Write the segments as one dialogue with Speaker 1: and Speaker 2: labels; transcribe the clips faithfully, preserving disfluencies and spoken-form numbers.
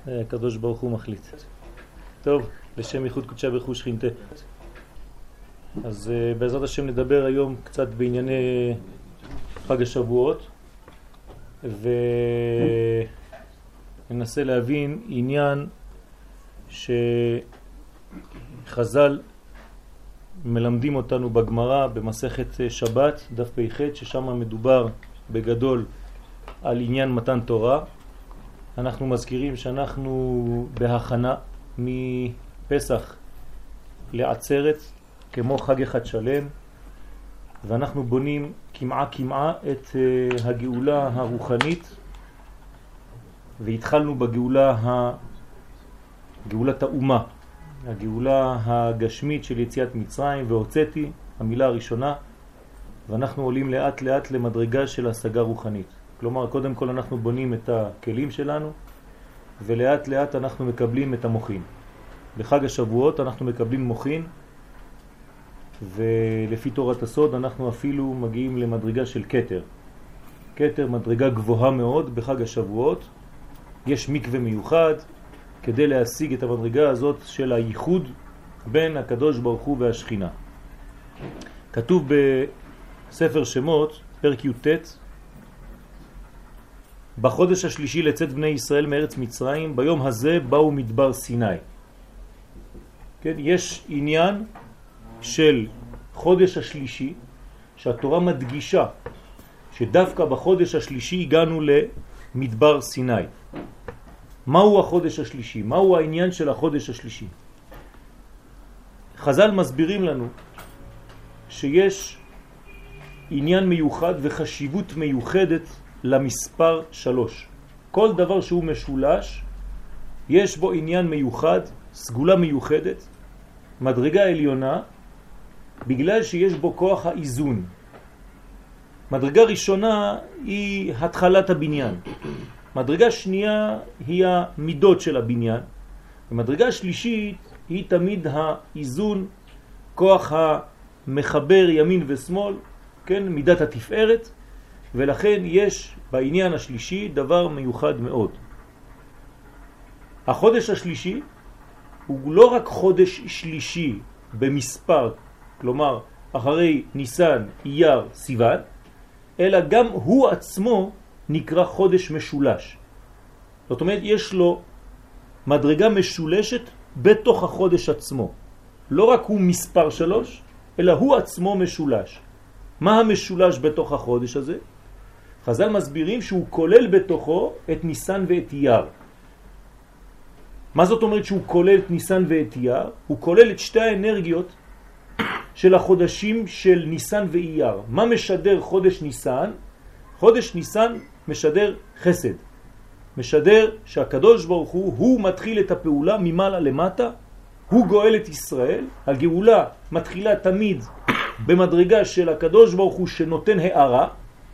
Speaker 1: הקדוש ברוך הוא מחליט. טוב, לשם ייחוד קודשה ברכו שכינתה. אז uh, בעזרת השם נדבר היום קצת בענייני חג השבועות, וננסה להבין עניין שחז"ל מלמדים אותנו בגמרא במסכת שבת, דף פ"ח, ששם מדובר בגדול על עניין מתן תורה. אנחנו מזכירים שאנחנו בהכנה מפסח לעצרת, כמו חג אחד שלם, ואנחנו בונים כמעה כמעה את uh, הגאולה הרוחנית, והתחלנו בגאולה ה... גאולת האומה, הגאולה הגשמית של יציאת מצרים, והוצאתי, המילה הראשונה, ואנחנו עולים לאט לאט למדרגה של השגה רוחנית. כלומר, קודם כל אנחנו בונים את הכלים שלנו, ולאט לאט אנחנו מקבלים את המוחין. בחג השבועות אנחנו מקבלים מוחין, ולפי תורת הסוד אנחנו אפילו מגיעים למדרגה של כתר. כתר, מדרגה גבוהה מאוד בחג השבועות. יש מקווה מיוחד כדי להשיג את המדרגה הזאת של הייחוד בין הקדוש ברוך הוא והשכינה. כתוב בספר שמות, פרק י"ט, בחודש השלישי לצאת בני ישראל מארץ מצרים, ביום הזה באו מדבר סיני. כן, יש עניין של חודש השלישי, שהתורה מדגישה שדווקא בחודש השלישי הגענו למדבר סיני. מהו החודש השלישי? מהו העניין של החודש השלישי? חז"ל מסבירים לנו שיש עניין מיוחד וחשיבות מיוחדת למספר שלוש. כל דבר שהוא משולש, יש בו עניין מיוחד, סגולה מיוחדת, מדרגה עליונה, בגלל שיש בו כוח האיזון. מדרגה ראשונה היא התחלת הבניין. מדרגה שנייה היא המידות של הבניין. ומדרגה שלישית היא תמיד האיזון, כוח המחבר ימין ושמאל, כן, מידת התפארת. ולכן יש בעניין השלישי דבר מיוחד מאוד. החודש השלישי הוא לא רק חודש שלישי במספר, כלומר אחרי ניסן, אייר, סיוון, אלא גם הוא עצמו נקרא חודש משולש. זאת אומרת, יש לו מדרגה משולשת בתוך החודש עצמו. לא רק הוא מספר שלוש, אלא הוא עצמו משולש. מה המשולש בתוך החודש הזה? חז"ל מסבירים שהוא כולל בתוכו את ניסן ואת אייר. מה זאת אומרת שהוא כולל את ניסן ואת אייר? הוא כולל את שתי האנרגיות של החודשים של ניסן ואייר. מה משדר חודש ניסן? חודש ניסן משדר חסד. משדר שהקדוש ברוך הוא, הוא מתחיל את הפעולה ממעלה למטה, הוא גואל את ישראל. הגאולה מתחילה תמיד במדרגה של הקדוש ברוך הוא שנותן הערה.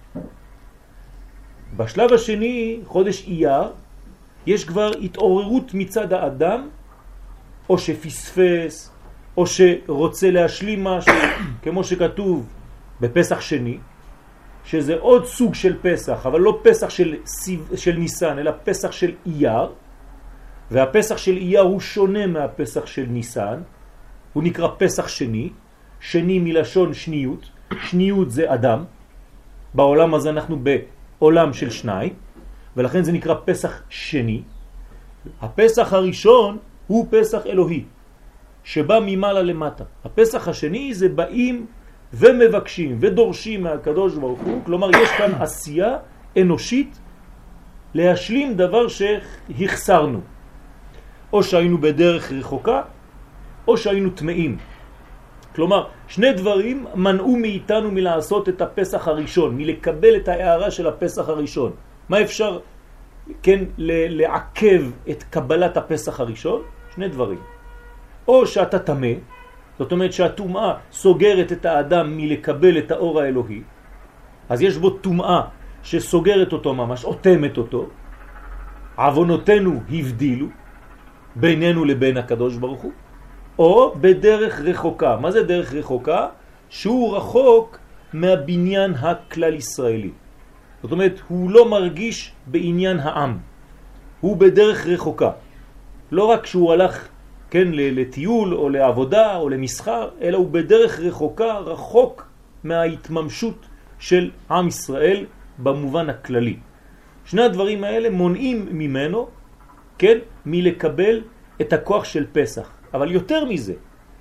Speaker 1: בשלב השני, חודש אייר, יש כבר התעוררות מצד האדם, או שפספס, או שרוצה להשלים משהו, כמו שכתוב בפסח שני, שזה עוד סוג של פסח, אבל לא פסח של, של ניסן, אלא פסח של אייר, והפסח של אייר הוא שונה מהפסח של ניסן, הוא נקרא פסח שני, שני מלשון שניות, שניות זה אדם, בעולם הזה אנחנו בעולם של שניים, ולכן זה נקרא פסח שני. הפסח הראשון הוא פסח אלוהי, שבא ממעלה למטה. הפסח השני זה באים ומבקשים ודורשים מהקדוש ברוך הוא, כלומר יש כאן עשייה אנושית להשלים דבר שהחסרנו. או שהיינו בדרך רחוקה, או שהיינו טמאים. כלומר, שני דברים מנעו מאיתנו מלעשות את הפסח הראשון, מלקבל את ההערה של הפסח הראשון. מה אפשר, כן, לעכב את קבלת הפסח הראשון? שני דברים. או שאתה טמא, זאת אומרת שהטומאה סוגרת את האדם מלקבל את האור האלוהי, אז יש בו טומאה שסוגרת אותו ממש, אוטמת אותו. עוונותינו הבדילו בינינו לבין הקדוש ברוך הוא, או בדרך רחוקה. מה זה דרך רחוקה? שהוא רחוק מהבניין הכלל ישראלי. זאת אומרת, הוא לא מרגיש בעניין העם. הוא בדרך רחוקה. לא רק שהוא הלך, כן, לטיול או לעבודה או למסחר, אלא הוא בדרך רחוקה, רחוק מההתממשות של עם ישראל במובן הכללי. שני הדברים האלה מונעים ממנו, כן, מלקבל את הכוח של פסח. אבל יותר מזה,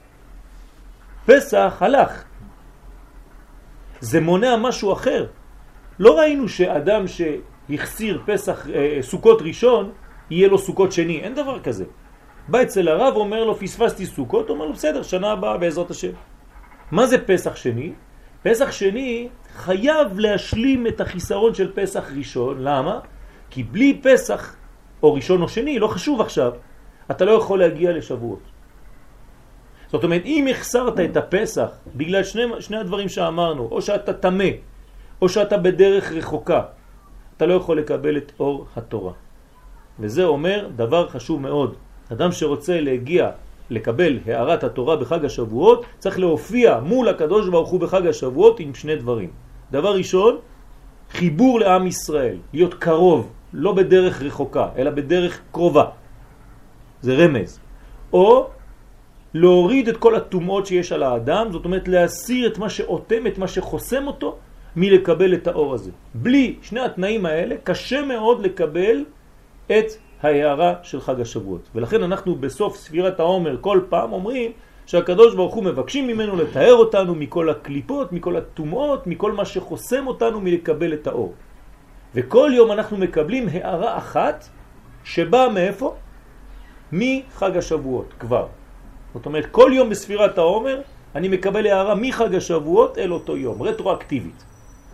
Speaker 1: פסח הלך. זה מונע משהו אחר. לא ראינו שאדם שהחסיר פסח, אה, סוכות ראשון, יהיה לו סוכות שני. אין דבר כזה. בא אצל הרב, אומר לו, פספסתי סוכות, אומר לו, בסדר, שנה הבאה בעזרת השם. מה זה פסח שני? פסח שני חייב להשלים את החיסרון של פסח ראשון. למה? כי בלי פסח, או ראשון או שני, לא חשוב עכשיו, אתה לא יכול להגיע לשבועות. זאת אומרת, אם החסרת את הפסח, בגלל שני, שני הדברים שאמרנו, או שאתה תמה, או שאתה בדרך רחוקה, אתה לא יכול לקבל את אור התורה. וזה אומר דבר חשוב מאוד. אדם שרוצה להגיע, לקבל הערת התורה בחג השבועות, צריך להופיע מול הקדוש ברוך הוא בחג השבועות עם שני דברים. דבר ראשון, חיבור לעם ישראל, להיות קרוב, לא בדרך רחוקה, אלא בדרך קרובה. זה רמז. או להוריד את כל התומעות שיש על האדם, זאת אומרת להסיר את מה שאותם, את מה שחוסם אותו, מלקבל את האור הזה. בלי שני התנאים האלה, קשה מאוד לקבל את ההערה של חג השבועות. ולכן אנחנו בסוף ספירת העומר כל פעם אומרים שהקדוש ברוך הוא מבקשים ממנו לתאר אותנו מכל הקליפות, מכל התומעות, מכל מה שחוסם אותנו מלקבל את האור. וכל יום אנחנו מקבלים הערה אחת שבאה מאיפה? מחג השבועות כבר. זאת אומרת, כל יום בספירת העומר אני מקבל הערה מחג השבועות אל אותו יום, רטרואקטיבית.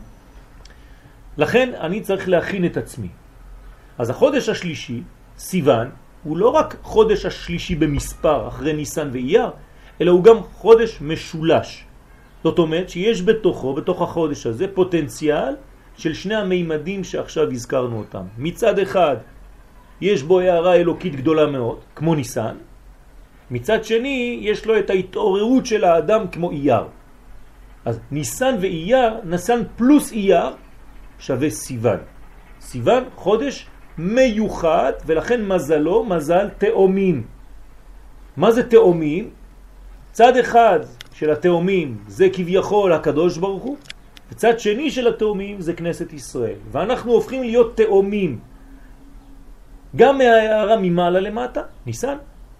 Speaker 1: לכן אני צריך להכין את עצמי. אז החודש השלישי, סיוון, הוא לא רק חודש השלישי במספר אחרי ניסן ואייר, אלא הוא גם חודש משולש. זאת אומרת שיש בתוכו, בתוך החודש הזה, פוטנציאל של שני המימדים שעכשיו הזכרנו אותם. מצד אחד יש בו הערה אלוקית גדולה מאוד, כמו ניסן. מצד שני יש לו את ההתעוררות של האדם כמו אייר. אז ניסן ואייר, ניסן פלוס אייר שווה סיוון. סיוון חודש מיוחד, ולכן מזלו מזל תאומים. מה זה תאומים? צד אחד של התאומים זה כביכול הקדוש ברוך הוא, וצד שני של התאומים זה כנסת ישראל. ואנחנו הופכים להיות תאומים גם מההערה ממעלה למטה, ניסן,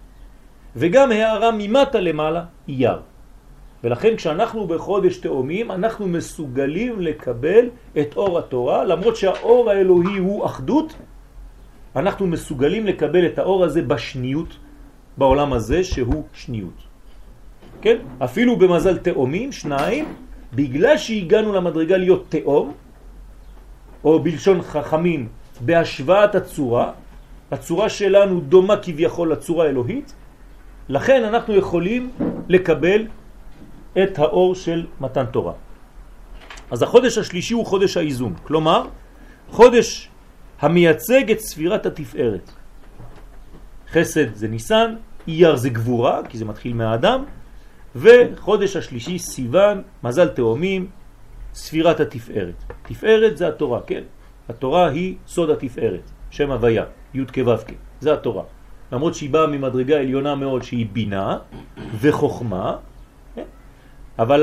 Speaker 1: וגם הערה ממטה למעלה, אייר. ולכן כשאנחנו בחודש תאומים, אנחנו מסוגלים לקבל את אור התורה, למרות שהאור האלוהי הוא אחדות, אנחנו מסוגלים לקבל את האור הזה בשניות, בעולם הזה שהוא שניות. כן? אפילו במזל תאומים, שניים, בגלל שהגענו למדרגה להיות תאום, או בלשון חכמים, בהשוואת הצורה, הצורה שלנו דומה כביכול לצורה האלוהית, לכן אנחנו יכולים לקבל את האור של מתן תורה. אז החודש השלישי הוא חודש האיזון, כלומר, חודש המייצג את ספירת התפארת. חסד זה ניסן, אייר זה גבורה, כי זה מתחיל מהאדם, וחודש השלישי סיוון, מזל תאומים, ספירת התפארת. תפארת זה התורה, כן? התורה היא סוד התפארת, שם הוויה, י' כ' ו' כ', זה התורה. למרות שהיא באה ממדרגה עליונה מאוד שהיא בינה וחוכמה, אבל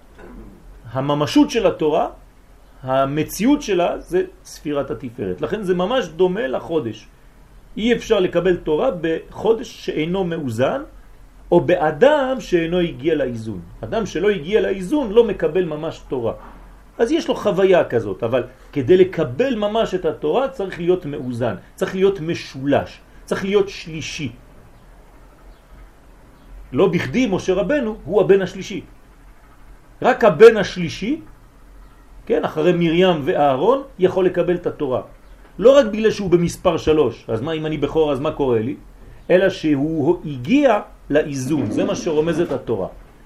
Speaker 1: הממשות של התורה, המציאות שלה זה ספירת התפארת. לכן זה ממש דומה לחודש. אי אפשר לקבל תורה בחודש שאינו מאוזן, או באדם שאינו הגיע לאיזון. אדם שלא הגיע לאיזון לא מקבל ממש תורה. אז יש לו חוויה כזאת, אבל כדי לקבל ממש את התורה צריך להיות מאוזן, צריך להיות משולש, צריך להיות שלישי. לא בכדי משה רבנו הוא הבן השלישי. רק הבן השלישי, כן, אחרי מרים ואהרון, יכול לקבל את התורה. לא רק בגלל שהוא במספר שלוש, אז מה אם אני בכור, אז מה קורה לי? אלא שהוא הגיע לאיזון, זה מה שרומזת התורה.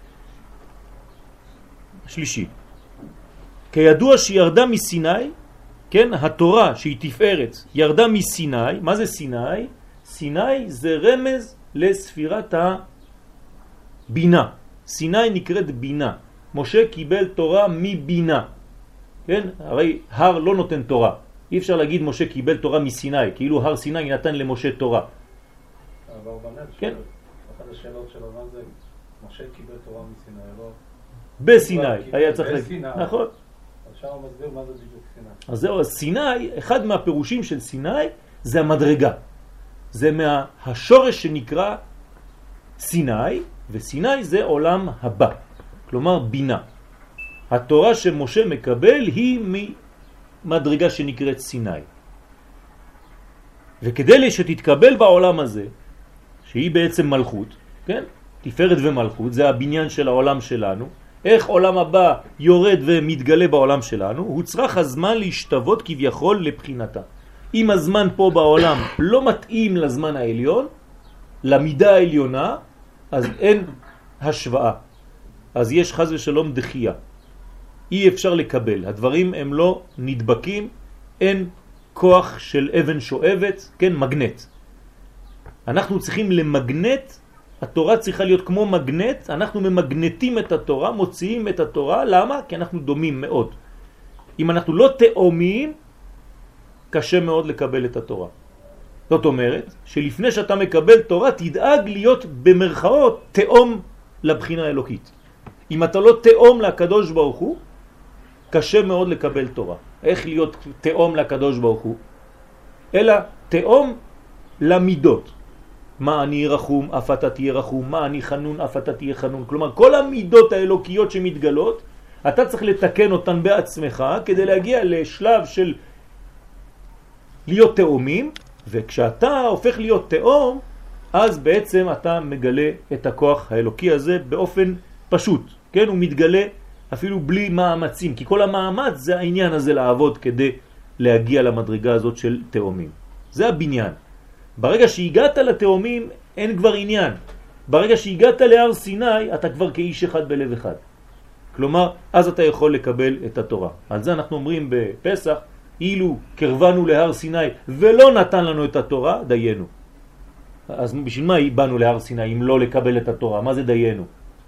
Speaker 1: שלישי. כידוע שירדה מסיני, כן, התורה שהיא תפארת, ירדה מסיני. מה זה סיני? סיני זה רמז לספירת הבינה. סיני נקראת בינה. משה קיבל תורה מבינה. כן? הרי הר לא נותן תורה. אי אפשר להגיד משה קיבל תורה מסיני, כאילו הר סיני נתן למשה תורה.
Speaker 2: אבל באברבנאל,
Speaker 1: כן.
Speaker 2: אחת השאלות שלו, מה זה, משה קיבל תורה מסיני, לא?
Speaker 1: בסיני, היה צריך להגיד. נכון.
Speaker 2: עכשיו הוא מסביר מה זה בדיוק סיני.
Speaker 1: אז זהו, אז סיני, אחד מהפירושים של סיני זה המדרגה. זה מהשורש שנקרא סיני, וסיני זה עולם הבא, כלומר בינה. התורה שמשה מקבל היא ממדרגה שנקראת סיני. וכדי שתתקבל בעולם הזה, שהיא בעצם מלכות, כן? תפארת ומלכות, זה הבניין של העולם שלנו. איך עולם הבא יורד ומתגלה בעולם שלנו? הוא צריך הזמן להשתוות כביכול לבחינתה. אם הזמן פה בעולם לא מתאים לזמן העליון, למידה העליונה, אז אין השוואה. אז יש חז ושלום דחייה. אי אפשר לקבל. הדברים הם לא נדבקים, אין כוח של אבן שואבת, כן, מגנט. אנחנו צריכים למגנט, התורה צריכה להיות כמו מגנט, אנחנו ממגנטים את התורה, מוציאים את התורה, למה? כי אנחנו דומים מאוד. אם אנחנו לא תאומים, קשה מאוד לקבל את התורה. זאת אומרת, שלפני שאתה מקבל תורה, תדאג להיות במרכאות תאום לבחינה האלוקית. אם אתה לא תאום לקדוש ברוך הוא, קשה מאוד לקבל תורה. איך להיות תאום לקדוש ברוך הוא? אלא תאום למידות. מה אני רחום, אף אתה תהיה רחום, מה אני חנון, אף אתה תהיה חנון. כלומר, כל המידות האלוקיות שמתגלות, אתה צריך לתקן אותן בעצמך, כדי להגיע לשלב של להיות תאומים, וכשאתה הופך להיות תאום, אז בעצם אתה מגלה את הכוח האלוקי הזה באופן פשוט. כן? הוא מתגלה אפילו בלי מאמצים, כי כל המאמץ זה העניין הזה לעבוד כדי להגיע למדרגה הזאת של תאומים. זה הבניין. ברגע שהגעת לתאומים אין כבר עניין. ברגע שהגעת להר סיני אתה כבר כאיש אחד בלב אחד. כלומר, אז אתה יכול לקבל את התורה. על זה אנחנו אומרים בפסח, אילו קרבנו להר סיני ולא נתן לנו את התורה, דיינו. אז בשביל מה באנו להר סיני אם לא לקבל את התורה? מה זה דיינו?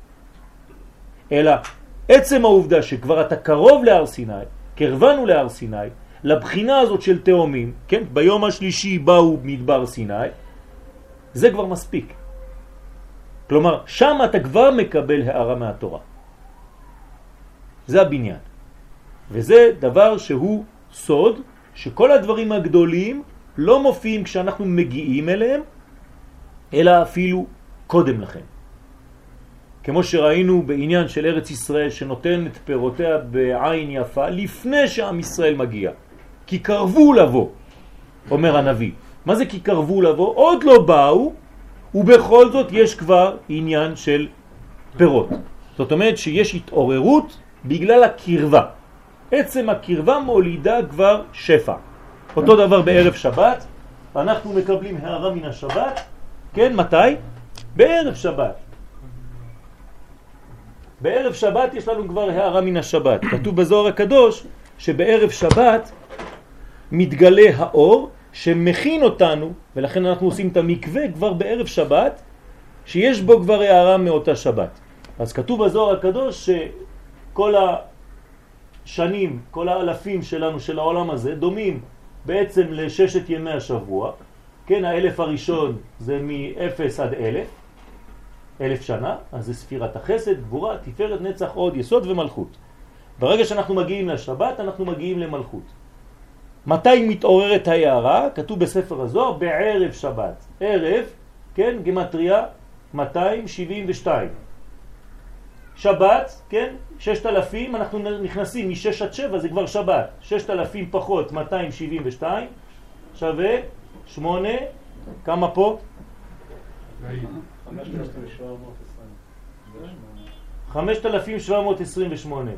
Speaker 1: אלא עצם העובדה שכבר אתה קרוב להר סיני, קרבנו להר סיני, לבחינה הזאת של תאומים, כן? ביום השלישי באו מדבר סיני, זה כבר מספיק. כלומר, שם אתה כבר מקבל הערה מהתורה. זה הבניין. וזה דבר שהוא סוד, שכל הדברים הגדולים לא מופיעים כשאנחנו מגיעים אליהם, אלא אפילו קודם לכן. כמו שראינו בעניין של ארץ ישראל שנותן את פירותיה בעין יפה לפני שעם ישראל מגיע. כי קרבו לבוא, אומר הנביא. מה זה כי קרבו לבוא? עוד לא באו, ובכל זאת יש כבר עניין של פירות. זאת אומרת שיש התעוררות בגלל הקרבה. עצם הקרבה מולידה כבר שפע. אותו דבר בערב שבת, אנחנו מקבלים הערה מן השבת. כן, מתי? בערב שבת. בערב שבת יש לנו כבר הערה מן השבת. כתוב בזוהר הקדוש שבערב שבת מתגלה האור שמכין אותנו, ולכן אנחנו עושים את המקווה כבר בערב שבת, שיש בו כבר הערה מאותה שבת. אז כתוב בזוהר הקדוש שכל השנים, כל האלפים שלנו, של העולם הזה, דומים בעצם לששת ימי השבוע. כן, האלף הראשון זה מ-אפס עד אלף, אלף שנה, אז זה ספירת החסד, גבורה, תפארת, נצח, עוד, יסוד ומלכות. ברגע שאנחנו מגיעים לשבת, אנחנו מגיעים למלכות. מתי מתעוררת ההערה? כתוב בספר הזוהר, בערב שבת. ערב, כן, גמטריה, מאתיים שבעים ושתיים. שבת, כן, ששת אלפים, אנחנו נכנסים מ-שש עד שבע, זה כבר שבת. ששת אלפים פחות מאתיים שבעים ושתיים, שווה שמונה, כמה פה? חמשת אלפים שבע מאות עשרים ושמונה.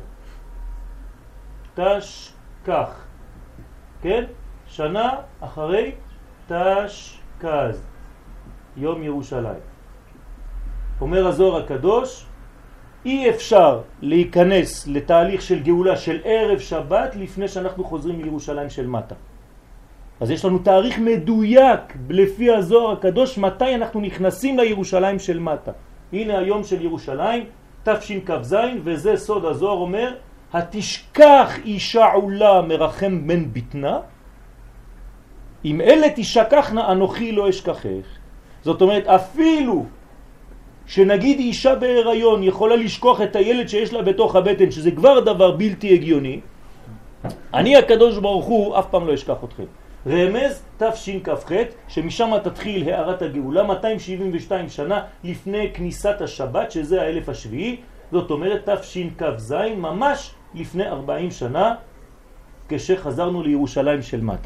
Speaker 1: תש כך. כן? שנה אחרי תשכ"ז, יום ירושלים. אומר הזוהר הקדוש, אי אפשר להיכנס לתהליך של גאולה של ערב שבת לפני שאנחנו חוזרים לירושלים של מטה. אז יש לנו תאריך מדויק לפי הזוהר הקדוש מתי אנחנו נכנסים לירושלים של מטה. הנה היום של ירושלים, תשכ"ז, וזה סוד הזוהר אומר, התשכח אישה עולה מרחם בן ביטנה, אם אלה תשכחנה אנוכי לא אשכחך. זאת אומרת, אפילו שנגיד אישה בהיריון יכולה לשכוח את הילד שיש לה בתוך הבטן, שזה כבר דבר בלתי הגיוני, אני הקדוש ברוך הוא אף פעם לא אשכח אתכם. רמז תשכ"ח, שמשם תתחיל הערת הגאולה, מאתיים שבעים ושתיים שנה לפני כניסת השבת, שזה האלף השביעי, זאת אומרת תשכ"ז, ממש לפני ארבעים שנה, כשחזרנו לירושלים של מטה.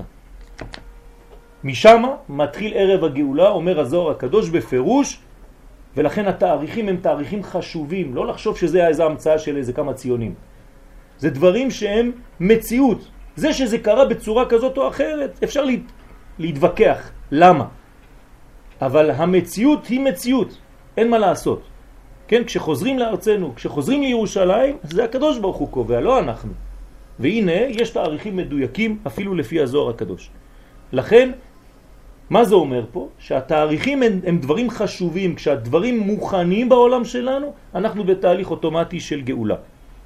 Speaker 1: משם מתחיל ערב הגאולה, אומר הזוהר הקדוש בפירוש, ולכן התאריכים הם תאריכים חשובים, לא לחשוב שזה איזה המצאה של איזה כמה ציונים. זה דברים שהם מציאות. זה שזה קרה בצורה כזאת או אחרת, אפשר לה, להתווכח. למה? אבל המציאות היא מציאות, אין מה לעשות. כן, כשחוזרים לארצנו, כשחוזרים לירושלים, זה הקדוש ברוך הוא קובע, לא אנחנו. והנה, יש תאריכים מדויקים אפילו לפי הזוהר הקדוש. לכן, מה זה אומר פה? שהתאריכים הם, הם דברים חשובים. כשהדברים מוכנים בעולם שלנו, אנחנו בתהליך אוטומטי של גאולה.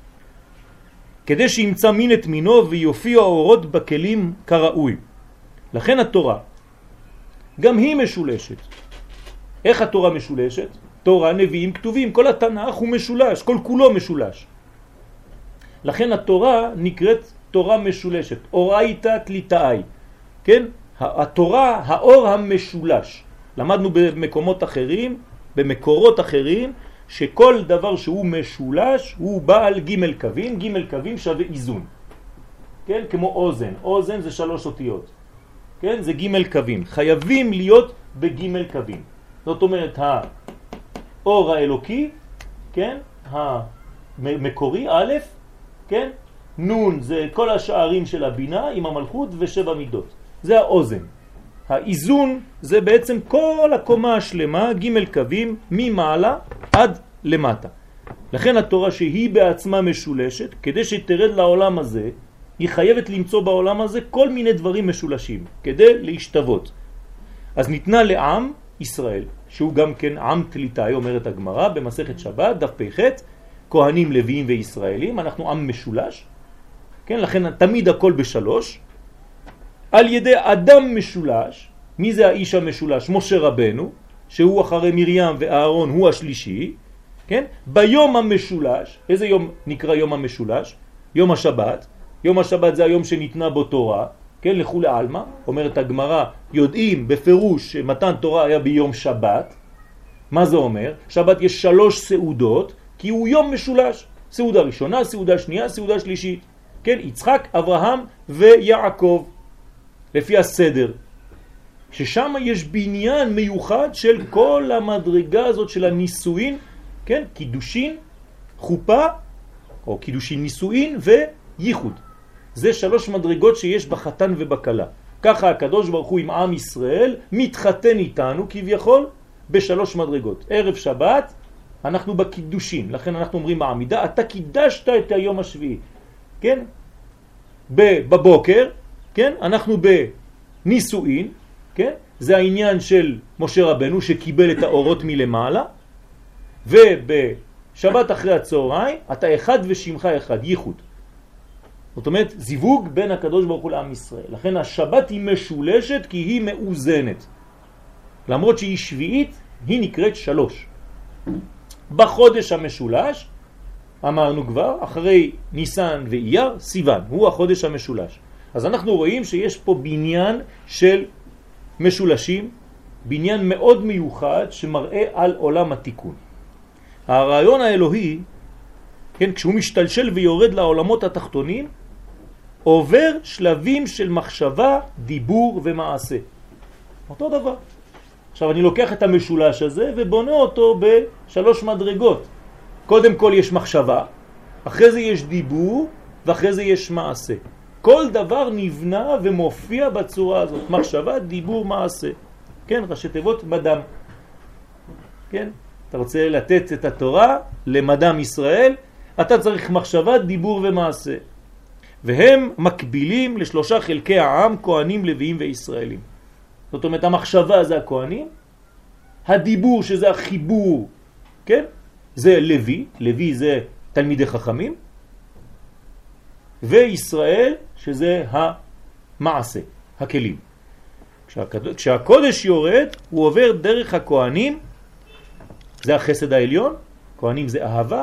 Speaker 1: כדי שימצא מין את מינו ויופיע האורות בכלים כראוי. לכן התורה, גם היא משולשת. איך התורה משולשת? תורה, נביאים, כתובים, כל התנ"ך הוא משולש, כל כולו משולש. לכן התורה נקראת תורה משולשת, אורייתא תליטאי. כן? התורה, האור המשולש. למדנו במקומות אחרים, במקורות אחרים, שכל דבר שהוא משולש הוא בעל ג' קווים, ג' קווים שווה איזון. כן? כמו אוזן, אוזן זה שלוש אותיות. כן? זה ג' קווים. חייבים להיות בג' קווים. זאת אומרת, האור האלוקי, כן? המקורי, א', כן? נון זה כל השערים של הבינה עם המלכות ושבע מידות. זה האוזן. האיזון זה בעצם כל הקומה השלמה, ג' קווים, ממעלה עד למטה. לכן התורה שהיא בעצמה משולשת, כדי שתרד לעולם הזה, היא חייבת למצוא בעולם הזה כל מיני דברים משולשים, כדי להשתוות. אז ניתנה לעם ישראל, שהוא גם כן עם תליטאי, אומרת הגמרא, במסכת שבת, דף פ"ח, כהנים, לוויים וישראלים, אנחנו עם משולש, כן? לכן תמיד הכל בשלוש, על ידי אדם משולש. מי זה האיש המשולש? משה רבנו, שהוא אחרי מרים ואהרון הוא השלישי, כן? ביום המשולש, איזה יום נקרא יום המשולש? יום השבת. יום השבת זה היום שניתנה בו תורה, כן? לכו לעלמא, אומרת הגמרא, יודעים בפירוש שמתן תורה היה ביום שבת. מה זה אומר? שבת יש שלוש סעודות, כי הוא יום משולש. סעודה ראשונה, סעודה שנייה, סעודה שלישית. כן? יצחק, אברהם ויעקב. לפי הסדר, ששם יש בניין מיוחד של כל המדרגה הזאת של הנישואין, כן? קידושין, חופה, או קידושין נישואין וייחוד. זה שלוש מדרגות שיש בחתן ובקלה. ככה הקדוש ברוך הוא עם עם ישראל מתחתן איתנו כביכול בשלוש מדרגות. ערב שבת אנחנו בקידושין, לכן אנחנו אומרים בעמידה, אתה קידשת את היום השביעי, כן? בבוקר, כן? אנחנו בנישואין, כן? זה העניין של משה רבנו שקיבל את האורות מלמעלה, ובשבת אחרי הצהריים אתה אחד ושמך אחד, ייחוד. זאת אומרת, זיווג בין הקדוש ברוך הוא לעם ישראל. לכן השבת היא משולשת כי היא מאוזנת. למרות שהיא שביעית, היא נקראת שלוש. בחודש המשולש, אמרנו כבר, אחרי ניסן ואייר, סיוון, הוא החודש המשולש. אז אנחנו רואים שיש פה בניין של משולשים, בניין מאוד מיוחד שמראה על עולם התיקון. הרעיון האלוהי, כן, כשהוא משתלשל ויורד לעולמות התחתונים, עובר שלבים של מחשבה, דיבור ומעשה. אותו דבר. עכשיו אני לוקח את המשולש הזה ובונה אותו בשלוש מדרגות. קודם כל יש מחשבה, אחרי זה יש דיבור ואחרי זה יש מעשה. כל דבר נבנה ומופיע בצורה הזאת. מחשבה, דיבור, מעשה. כן, ראשי תיבות מדם. כן? אתה רוצה לתת את התורה למדם ישראל, אתה צריך מחשבה, דיבור ומעשה. והם מקבילים לשלושה חלקי העם, כהנים, לוויים וישראלים. זאת אומרת, המחשבה זה הכהנים, הדיבור שזה החיבור, כן? זה לוי, לוי זה תלמידי חכמים, וישראל שזה המעשה, הכלים. כשהקודש יורד, הוא עובר דרך הכהנים, זה החסד העליון, כהנים זה אהבה,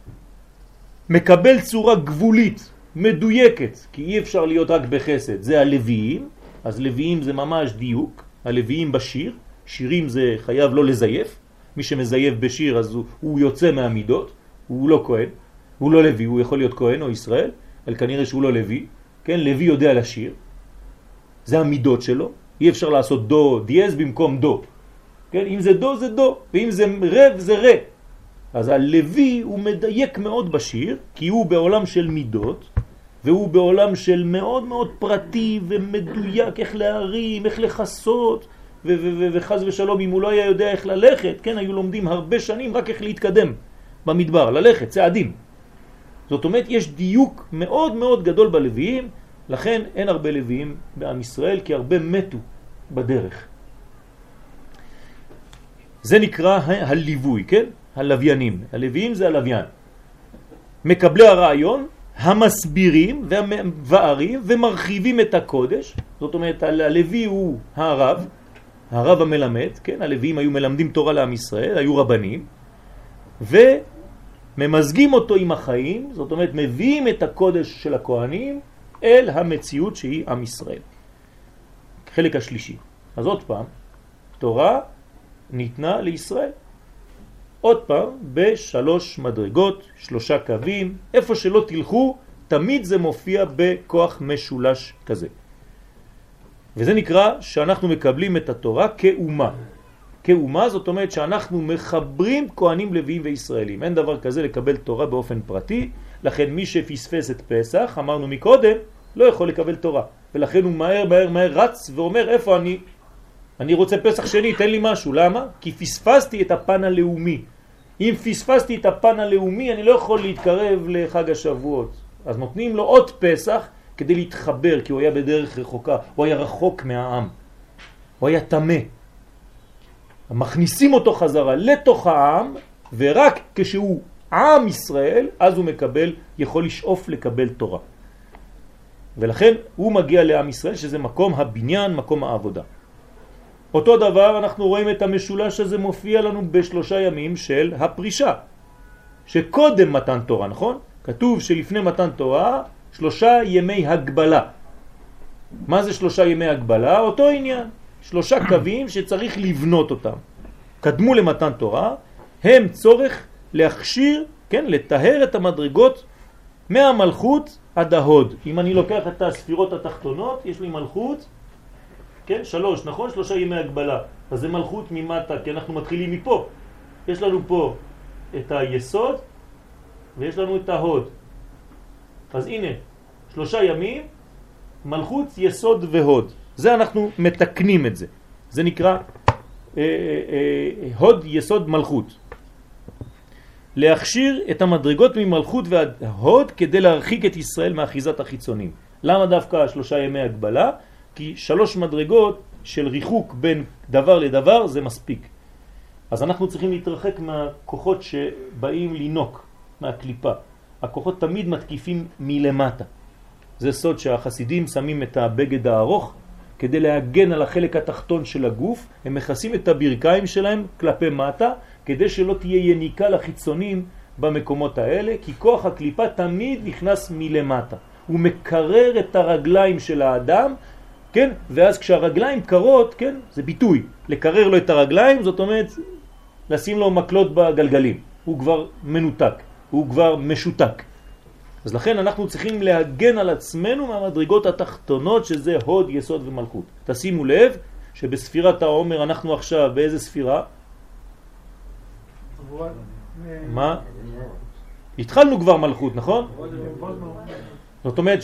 Speaker 1: מקבל צורה גבולית, מדויקת, כי אי אפשר להיות רק בחסד, זה הלוויים, אז לוויים זה ממש דיוק, הלוויים בשיר, שירים זה חייב לא לזייף, מי שמזייף בשיר אז הוא, הוא יוצא מהמידות, הוא לא כהן, הוא לא לוי, הוא יכול להיות כהן או ישראל, אבל כנראה שהוא לא לוי, כן, לוי יודע לשיר, זה המידות שלו, אי אפשר לעשות דו דיאז במקום דו, כן, אם זה דו זה דו, ואם זה רב זה רה, אז הלוי הוא מדייק מאוד בשיר, כי הוא בעולם של מידות, והוא בעולם של מאוד מאוד פרטי ומדויק, איך להרים, איך לחסות, ו- ו- ו- וחז ושלום, אם הוא לא היה יודע איך ללכת, כן, היו לומדים הרבה שנים רק איך להתקדם במדבר, ללכת, צעדים. זאת אומרת, יש דיוק מאוד מאוד גדול בלוויים, לכן אין הרבה לוויים בעם ישראל, כי הרבה מתו בדרך. זה נקרא הליווי, כן? הלוויינים. הלוויים זה הלוויין. מקבלי הרעיון, המסבירים והמבארים ומרחיבים את הקודש. זאת אומרת, הלוי הוא הרב, הרב המלמד, כן? הלוויים היו מלמדים תורה לעם ישראל, היו רבנים, וממזגים אותו עם החיים, זאת אומרת, מביאים את הקודש של הכהנים אל המציאות שהיא עם ישראל. חלק השלישי. אז עוד פעם, תורה ניתנה לישראל. עוד פעם, בשלוש מדרגות, שלושה קווים, איפה שלא תלכו, תמיד זה מופיע בכוח משולש כזה. וזה נקרא שאנחנו מקבלים את התורה כאומה. כאומה זאת אומרת שאנחנו מחברים כהנים לוויים וישראלים. אין דבר כזה לקבל תורה באופן פרטי, לכן מי שפספס את פסח, אמרנו מקודם, לא יכול לקבל תורה. ולכן הוא מהר מהר מהר רץ ואומר איפה אני? אני רוצה פסח שני, תן לי משהו. למה? כי פספסתי את הפן הלאומי. אם פספסתי את הפן הלאומי, אני לא יכול להתקרב לחג השבועות. אז נותנים לו עוד פסח כדי להתחבר, כי הוא היה בדרך רחוקה. הוא היה רחוק מהעם. הוא היה תמה. מכניסים אותו חזרה לתוך העם, ורק כשהוא עם ישראל, אז הוא מקבל, יכול לשאוף לקבל תורה. ולכן הוא מגיע לעם ישראל, שזה מקום הבניין, מקום העבודה. אותו דבר אנחנו רואים את המשולש הזה מופיע לנו בשלושה ימים של הפרישה, שקודם מתן תורה, נכון? כתוב שלפני מתן תורה שלושה ימי הגבלה. מה זה שלושה ימי הגבלה? אותו עניין, שלושה קווים שצריך לבנות אותם. קדמו למתן תורה, הם צורך להכשיר, כן, לטהר את המדרגות מהמלכות עד ההוד. אם אני לוקח את הספירות התחתונות, יש לי מלכות, כן, שלוש, נכון? שלושה ימי הגבלה. אז זה מלכות ממטה, כי אנחנו מתחילים מפה. יש לנו פה את היסוד, ויש לנו את ההוד. אז הנה, שלושה ימים, מלכות, יסוד והוד. זה אנחנו מתקנים את זה. זה נקרא אה, אה, אה, הוד, יסוד, מלכות. להכשיר את המדרגות ממלכות ועד הוד כדי להרחיק את ישראל מאחיזת החיצונים. למה דווקא שלושה ימי הגבלה? כי שלוש מדרגות של ריחוק בין דבר לדבר זה מספיק. אז אנחנו צריכים להתרחק מהכוחות שבאים לינוק, מהקליפה. הכוחות תמיד מתקיפים מלמטה. זה סוד שהחסידים שמים את הבגד הארוך כדי להגן על החלק התחתון של הגוף. הם מכסים את הברכיים שלהם כלפי מטה כדי שלא תהיה יניקה לחיצונים במקומות האלה, כי כוח הקליפה תמיד נכנס מלמטה. הוא מקרר את הרגליים של האדם, כן? ואז כשהרגליים קרות, כן? זה ביטוי. לקרר לו את הרגליים, זאת אומרת, לשים לו מקלות בגלגלים. הוא כבר מנותק, הוא כבר משותק. אז לכן אנחנו צריכים להגן על עצמנו מהמדרגות התחתונות, שזה הוד, יסוד ומלכות. תשימו לב שבספירת העומר אנחנו עכשיו באיזה ספירה? מה? התחלנו כבר מלכות, נכון? זאת אומרת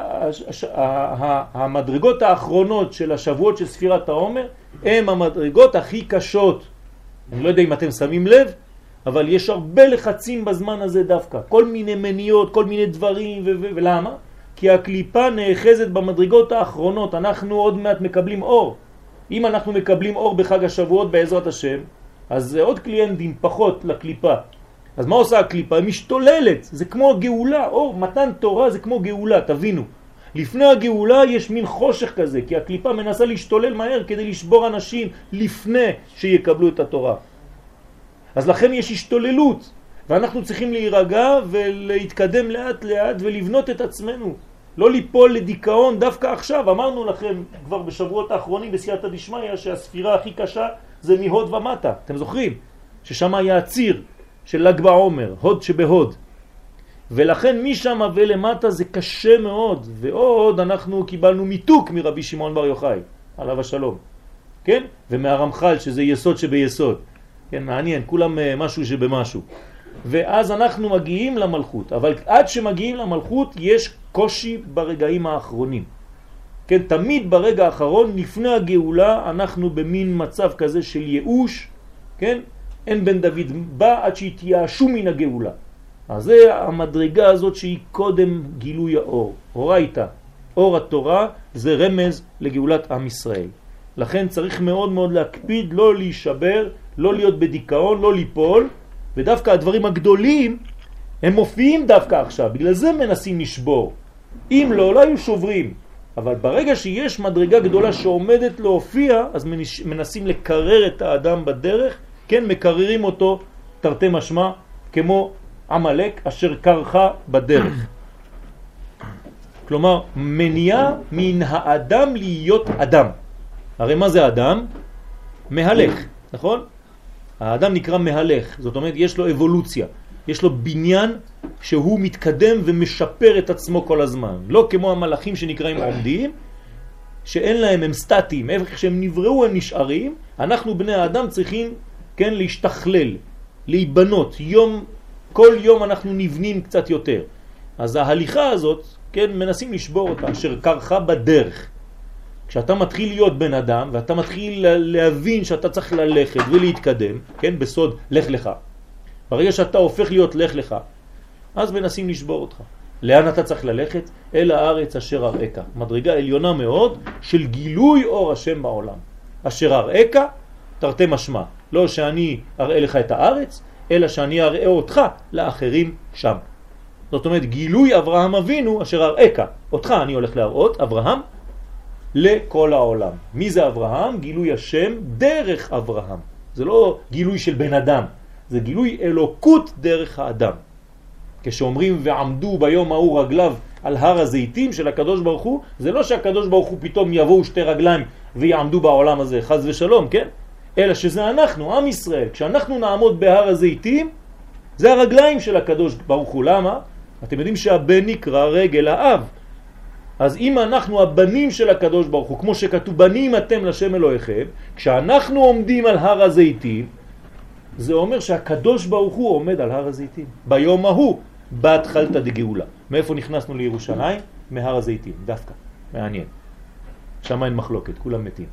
Speaker 1: שהמדרגות האחרונות של השבועות של ספירת העומר הם המדרגות הכי קשות. אני לא יודע אם אתם שמים לב, אבל יש הרבה לחצים בזמן הזה דווקא. כל מיני מניות, כל מיני דברים, ולמה? כי הקליפה נאחזת במדרגות האחרונות. אנחנו עוד מעט מקבלים אור. אם אנחנו מקבלים אור בחג השבועות בעזרת השם, אז זה עוד קליינטים פחות לקליפה. אז מה עושה הקליפה? היא משתוללת. זה כמו גאולה. אור, מתן תורה זה כמו גאולה, תבינו. לפני הגאולה יש מין חושך כזה, כי הקליפה מנסה להשתולל מהר כדי לשבור אנשים לפני שיקבלו את התורה. אז לכן יש השתוללות, ואנחנו צריכים להירגע ולהתקדם לאט לאט ולבנות את עצמנו. לא ליפול לדיכאון דווקא עכשיו. אמרנו לכם כבר בשבועות האחרונים בסייעתא דשמיא שהספירה הכי קשה זה מהוד ומטה. אתם זוכרים? ששם היה הציר של ל"ג בעומר, הוד שבהוד. ולכן משם ולמטה זה קשה מאוד. ועוד אנחנו קיבלנו מיתוק מרבי שמעון בר יוחאי, עליו השלום. כן? ומהרמח"ל שזה יסוד שביסוד. כן, מעניין, כולם משהו שבמשהו. ואז אנחנו מגיעים למלכות, אבל עד שמגיעים למלכות יש קושי ברגעים האחרונים. כן, תמיד ברגע האחרון לפני הגאולה אנחנו במין מצב כזה של ייאוש, כן? אין בן דוד בא עד שיתייאשו מן הגאולה. אז זה המדרגה הזאת שהיא קודם גילוי האור. אורייתא, אור התורה זה רמז לגאולת עם ישראל. לכן צריך מאוד מאוד להקפיד, לא להישבר, לא להיות בדיכאון, לא ליפול, ודווקא הדברים הגדולים הם מופיעים דווקא עכשיו, בגלל זה מנסים לשבור. אם לא, לא היו שוברים. אבל ברגע שיש מדרגה גדולה שעומדת להופיע, אז מנסים לקרר את האדם בדרך, כן, מקררים אותו תרתי משמע, כמו עמלק אשר קרחה בדרך. כלומר, מניעה מן האדם להיות אדם. הרי מה זה אדם? מהלך, נכון? האדם נקרא מהלך, זאת אומרת יש לו אבולוציה, יש לו בניין שהוא מתקדם ומשפר את עצמו כל הזמן. לא כמו המלאכים שנקראים עומדים, שאין להם, הם סטטיים, איך שהם נבראו הם נשארים. אנחנו בני האדם צריכים, כן, להשתכלל, להיבנות, יום, כל יום אנחנו נבנים קצת יותר. אז ההליכה הזאת, כן, מנסים לשבור אותה, אשר קרחה בדרך. כשאתה מתחיל להיות בן אדם, ואתה מתחיל להבין שאתה צריך ללכת ולהתקדם, כן, בסוד לך לך. ברגע שאתה הופך להיות לך לך, אז מנסים לשבור אותך. לאן אתה צריך ללכת? אל הארץ אשר אראך. מדרגה עליונה מאוד של גילוי אור השם בעולם. אשר אראך, תרתי משמע. לא שאני אראה לך את הארץ, אלא שאני אראה אותך לאחרים שם. זאת אומרת, גילוי אברהם אבינו אשר אראך. אותך אני הולך להראות, אברהם, לכל העולם. מי זה אברהם? גילוי השם דרך אברהם. זה לא גילוי של בן אדם, זה גילוי אלוקות דרך האדם. כשאומרים ועמדו ביום ההוא רגליו על הר הזיתים של הקדוש ברוך הוא, זה לא שהקדוש ברוך הוא פתאום יבואו שתי רגליים ויעמדו בעולם הזה, חז ושלום, כן? אלא שזה אנחנו, עם ישראל. כשאנחנו נעמוד בהר הזיתים, זה הרגליים של הקדוש ברוך הוא. למה? אתם יודעים שהבן נקרא רגל האב. אז אם אנחנו הבנים של הקדוש ברוך הוא, כמו שכתוב בנים אתם לשם אלוהיכם, כשאנחנו עומדים על הר הזיתים, זה אומר שהקדוש ברוך הוא עומד על הר הזיתים. ביום ההוא, בהתחלת דגאולה. מאיפה נכנסנו לירושלים? מהר הזיתים, דווקא. מעניין. שם אין מחלוקת, כולם מתים.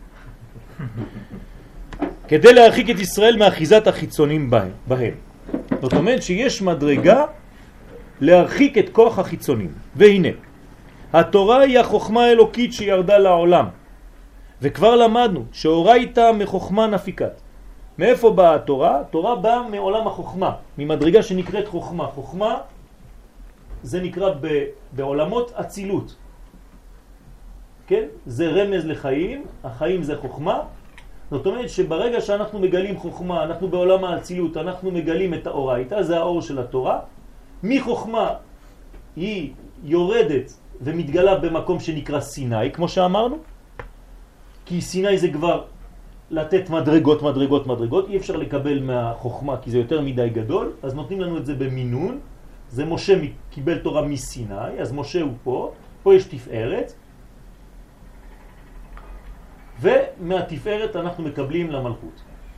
Speaker 1: כדי להרחיק את ישראל מאחיזת החיצונים בהם. בהם. זאת אומרת שיש מדרגה להרחיק את כוח החיצונים. והנה, התורה היא החוכמה האלוקית שירדה לעולם. וכבר למדנו שאורייתא מחוכמה נפיקת. מאיפה באה התורה? התורה באה מעולם החוכמה, ממדרגה שנקראת חוכמה. חוכמה זה נקרא ב, בעולמות אצילות. כן? זה רמז לחיים, החיים זה חוכמה. זאת אומרת שברגע שאנחנו מגלים חוכמה, אנחנו בעולם האצילות, אנחנו מגלים את האורייתא, זה האור של התורה. מחוכמה היא יורדת ומתגלה במקום שנקרא סיני, כמו שאמרנו. כי סיני זה כבר לתת מדרגות, מדרגות, מדרגות. אי אפשר לקבל מהחוכמה כי זה יותר מדי גדול, אז נותנים לנו את זה במינון. זה משה קיבל תורה מסיני, אז משה הוא פה, פה יש תפארת, ומהתפארת אנחנו מקבלים למלכות.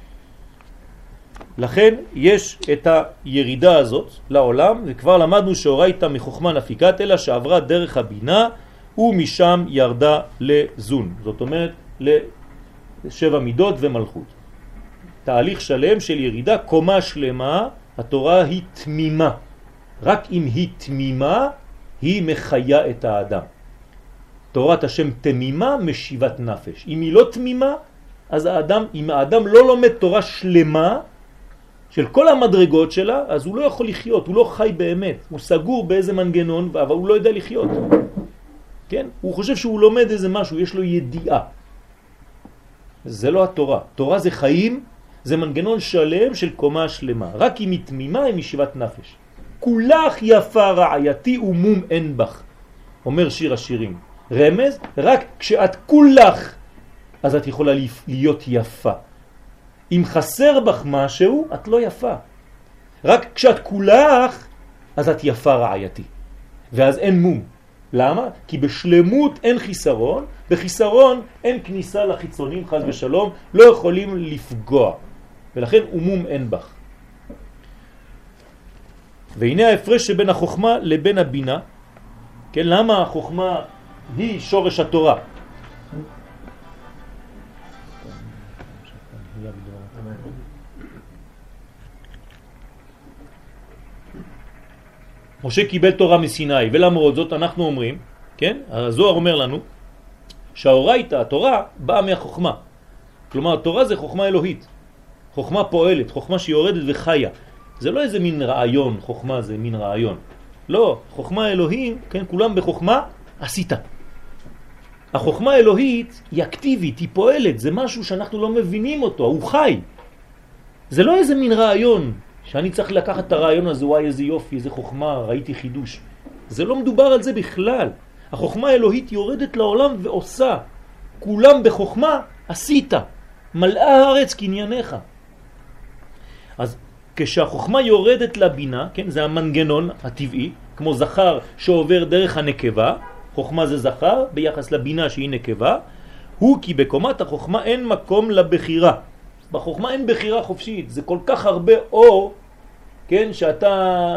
Speaker 1: לכן יש את הירידה הזאת לעולם, וכבר למדנו שאורייתא מחוכמה נפיקת, אלא שעברה דרך הבינה ומשם ירדה לזון. זאת אומרת לשבע מידות ומלכות. תהליך שלם של ירידה, קומה שלמה. התורה היא תמימה. רק אם היא תמימה, היא מחיה את האדם. תורת השם תמימה משיבת נפש. אם היא לא תמימה, אז האדם, אם האדם לא לומד תורה שלמה של כל המדרגות שלה, אז הוא לא יכול לחיות, הוא לא חי באמת. הוא סגור באיזה מנגנון, אבל הוא לא יודע לחיות. כן? הוא חושב שהוא לומד איזה משהו, יש לו ידיעה. זה לא התורה. תורה זה חיים, זה מנגנון שלם של קומה שלמה. רק אם היא תמימה, היא משיבת נפש. כולך יפה רעייתי ומום אין בך, אומר שיר השירים. רמז, רק כשאת כולך, אז את יכולה להיות יפה. אם חסר בך משהו, את לא יפה. רק כשאת כולך, אז את יפה רעייתי. ואז אין מום. למה? כי בשלמות אין חיסרון, בחיסרון אין כניסה לחיצונים, חז ושלום, לא יכולים לפגוע. ולכן אומום אין בך. והנה ההפרש שבין החוכמה לבין הבינה. כן, למה החוכמה היא שורש התורה? משה קיבל תורה מסיני, ולמרות זאת אנחנו אומרים, כן, הזוהר אומר לנו, שהאורייתא, התורה, באה מהחוכמה. כלומר, התורה זה חוכמה אלוהית. חוכמה פועלת, חוכמה שיורדת וחיה. זה לא איזה מין רעיון, חוכמה זה מין רעיון. לא, חוכמה אלוהים, כן, כולם בחוכמה, עשית. החוכמה האלוהית היא אקטיבית, היא פועלת, זה משהו שאנחנו לא מבינים אותו, הוא חי. זה לא איזה מין רעיון, שאני צריך לקחת את הרעיון הזה, וואי איזה יופי, איזה חוכמה, ראיתי חידוש. זה לא מדובר על זה בכלל. החוכמה האלוהית יורדת לעולם ועושה. כולם בחוכמה עשית. מלאה הארץ קנייניך. אז כשהחוכמה יורדת לבינה, כן, זה המנגנון הטבעי, כמו זכר שעובר דרך הנקבה, חוכמה זה זכר ביחס לבינה שהיא נקבה, הוא כי בקומת החוכמה אין מקום לבחירה. בחוכמה אין בחירה חופשית, זה כל כך הרבה אור, כן, שאתה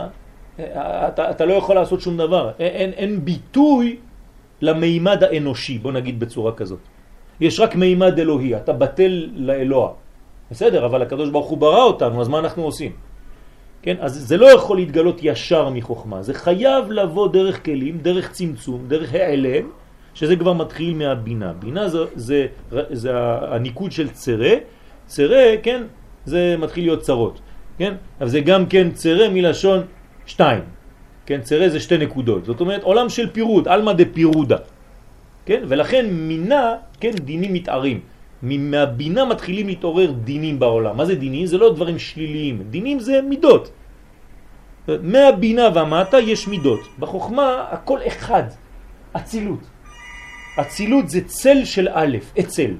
Speaker 1: אתה, אתה לא יכול לעשות שום דבר. אין, אין ביטוי למימד האנושי, בוא נגיד בצורה כזאת. יש רק מימד אלוהי, אתה בטל לאלוה. בסדר, אבל הקדוש ברוך הוא ברא אותנו, אז מה אנחנו עושים? כן, אז זה לא יכול להתגלות ישר מחוכמה, זה חייב לבוא דרך כלים, דרך צמצום, דרך העלם, שזה כבר מתחיל מהבינה. בינה זה, זה, זה הניקוד של צרה, צרה, כן, זה מתחיל להיות צרות, כן? אבל זה גם כן צרה מלשון שתיים, כן? צרה זה שתי נקודות, זאת אומרת עולם של פירוד, אלמה דה פירודה, כן? ולכן מינה, כן, דינים מתארים. מהבינה מתחילים להתעורר דינים בעולם. מה זה דינים? זה לא דברים שליליים. דינים זה מידות. מהבינה ומטה יש מידות. בחוכמה הכל אחד. אצילות. אצילות זה צל של א', אצל.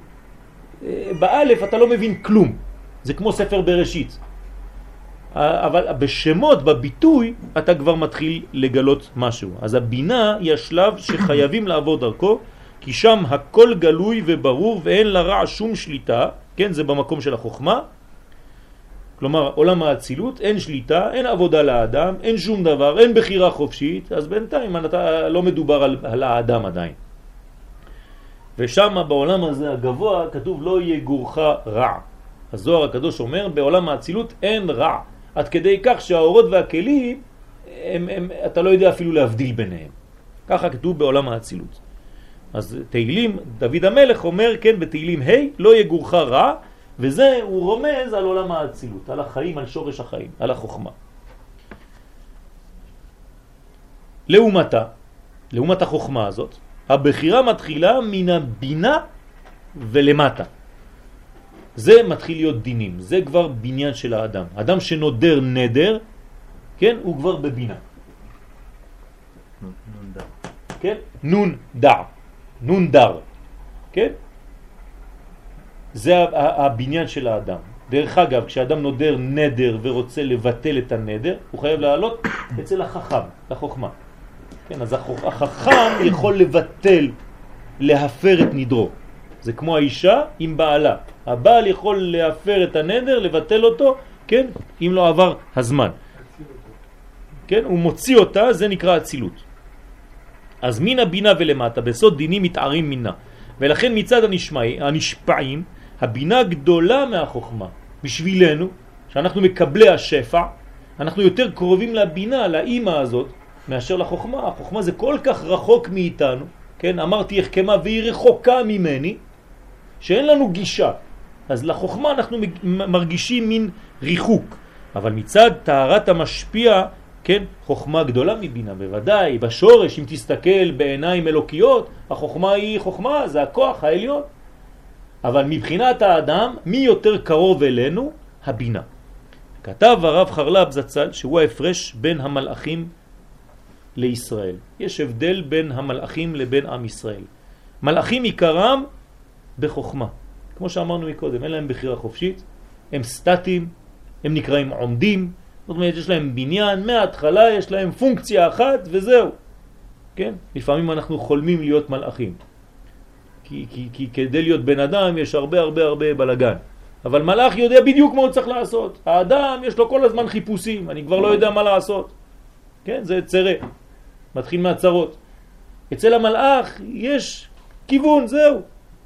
Speaker 1: באלף אתה לא מבין כלום. זה כמו ספר בראשית. אבל בשמות, בביטוי, אתה כבר מתחיל לגלות משהו. אז הבינה היא השלב שחייבים לעבור דרכו, כי שם הכל גלוי וברור ואין לרע שום שליטה, כן, זה במקום של החוכמה. כלומר, עולם האצילות, אין שליטה, אין עבודה לאדם, אין שום דבר, אין בחירה חופשית, אז בינתיים אתה לא מדובר על, על האדם עדיין. ושם בעולם הזה הגבוה כתוב לא יהיה גורך רע. הזוהר הקדוש אומר, בעולם האצילות אין רע. עד כדי כך שהאורות והכלים, הם, הם, אתה לא יודע אפילו להבדיל ביניהם. ככה כתוב בעולם האצילות. אז תהילים, דוד המלך אומר, כן, בתהילים ה' לא יגורך רע, וזה הוא רומז על עולם האצילות, על החיים, על שורש החיים, על החוכמה. לעומתה, לעומת החוכמה הזאת, הבחירה מתחילה מן הבינה ולמטה. זה מתחיל להיות דינים, זה כבר בניין של האדם. אדם שנודר נדר, כן, הוא כבר בבינה.
Speaker 3: נון דר.
Speaker 1: כן? נון דר. נון דר. כן? זה הבניין של האדם. דרך אגב, כשאדם נודר נדר ורוצה לבטל את הנדר, הוא חייב לעלות אצל החכם, לחוכמה. כן, אז החכם יכול לבטל, להפר את נדרו. זה כמו האישה עם בעלה. הבעל יכול להפר את הנדר, לבטל אותו, כן? אם לא עבר הזמן. כן? הוא מוציא אותה, זה נקרא אצילות. אז מן הבינה ולמטה, בסוד דינים מתארים מינה. ולכן מצד הנשמעים, הנשפעים, הבינה גדולה מהחוכמה. בשבילנו, שאנחנו מקבלי השפע, אנחנו יותר קרובים לבינה, לאמא הזאת, מאשר לחוכמה. החוכמה זה כל כך רחוק מאיתנו, כן? אמרתי החכמה והיא רחוקה ממני, שאין לנו גישה. אז לחוכמה אנחנו מרגישים מין ריחוק. אבל מצד טהרת המשפיע, כן? חוכמה גדולה מבינה, בוודאי, בשורש, אם תסתכל בעיניים אלוקיות, החוכמה היא חוכמה, זה הכוח העליון. אבל מבחינת האדם, מי יותר קרוב אלינו? הבינה. כתב הרב חרל"פ זצ"ל שהוא ההפרש בין המלאכים לישראל. יש הבדל בין המלאכים לבין עם ישראל. מלאכים עיקרם בחוכמה. כמו שאמרנו מקודם, אין להם בחירה חופשית, הם סטטיים, הם נקראים עומדים, זאת אומרת יש להם בניין, מההתחלה יש להם פונקציה אחת וזהו. כן? לפעמים אנחנו חולמים להיות מלאכים. כי, כי, כי כדי להיות בן אדם יש הרבה הרבה הרבה בלגן. אבל מלאך יודע בדיוק מה הוא צריך לעשות. האדם יש לו כל הזמן חיפושים, אני כבר לא יודע מה לעשות. כן? זה צרה. מתחיל מהצרות. אצל המלאך יש כיוון, זהו.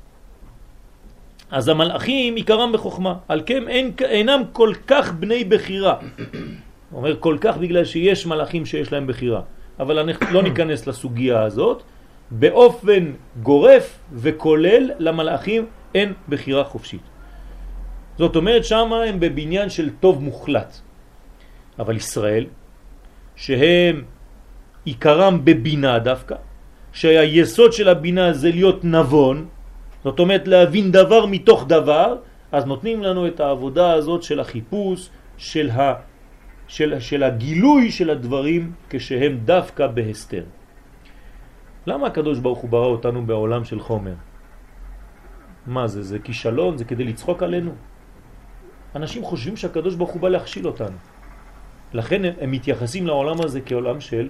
Speaker 1: אז המלאכים עיקרם בחוכמה. על כן אין, אינם כל כך בני בחירה. הוא אומר כל כך בגלל שיש מלאכים שיש להם בחירה. אבל אנחנו לא ניכנס לסוגיה הזאת. באופן גורף וכולל למלאכים אין בחירה חופשית. זאת אומרת שמה הם בבניין של טוב מוחלט. אבל ישראל, שהם עיקרם בבינה דווקא, שהיסוד של הבינה זה להיות נבון, זאת אומרת להבין דבר מתוך דבר, אז נותנים לנו את העבודה הזאת של החיפוש, של, ה, של, של הגילוי של הדברים כשהם דווקא בהסתר. למה הקדוש ברוך הוא ברא אותנו בעולם של חומר? מה זה? זה כישלון? זה כדי לצחוק עלינו? אנשים חושבים שהקדוש ברוך הוא בא להכשיל אותנו. לכן הם מתייחסים לעולם הזה כעולם של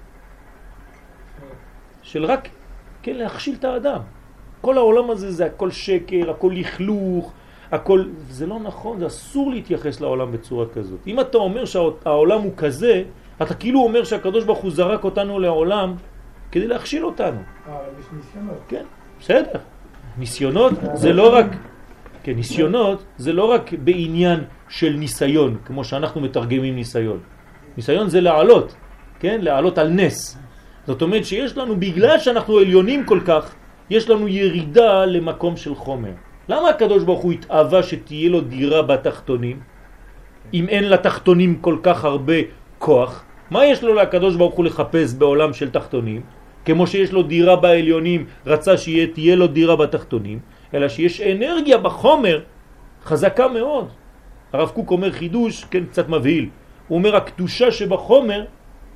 Speaker 1: של רק כן להכשיל את האדם. כל העולם הזה זה הכל שקר, הכל לכלוך, הכל, זה לא נכון, זה אסור להתייחס לעולם בצורה כזאת. אם אתה אומר שהעולם הוא כזה, אתה כאילו אומר שהקדוש ברוך הוא זרק אותנו לעולם כדי להכשיל אותנו.
Speaker 2: אה, יש ניסיונות.
Speaker 1: כן, בסדר. ניסיונות זה לא רק, כן, ניסיונות זה לא רק בעניין של ניסיון, כמו שאנחנו מתרגמים ניסיון. ניסיון זה לעלות, כן, לעלות על נס. זאת אומרת שיש לנו, בגלל שאנחנו עליונים כל כך, יש לנו ירידה למקום של חומר. למה הקדוש ברוך הוא התאווה שתהיה לו דירה בתחתונים? אם אין לתחתונים כל כך הרבה כוח, מה יש לו לקדוש ברוך הוא לחפש בעולם של תחתונים? כמו שיש לו דירה בעליונים, רצה שתהיה לו דירה בתחתונים, אלא שיש אנרגיה בחומר חזקה מאוד. הרב קוק אומר חידוש, כן, קצת מבהיל. הוא אומר הקדושה שבחומר,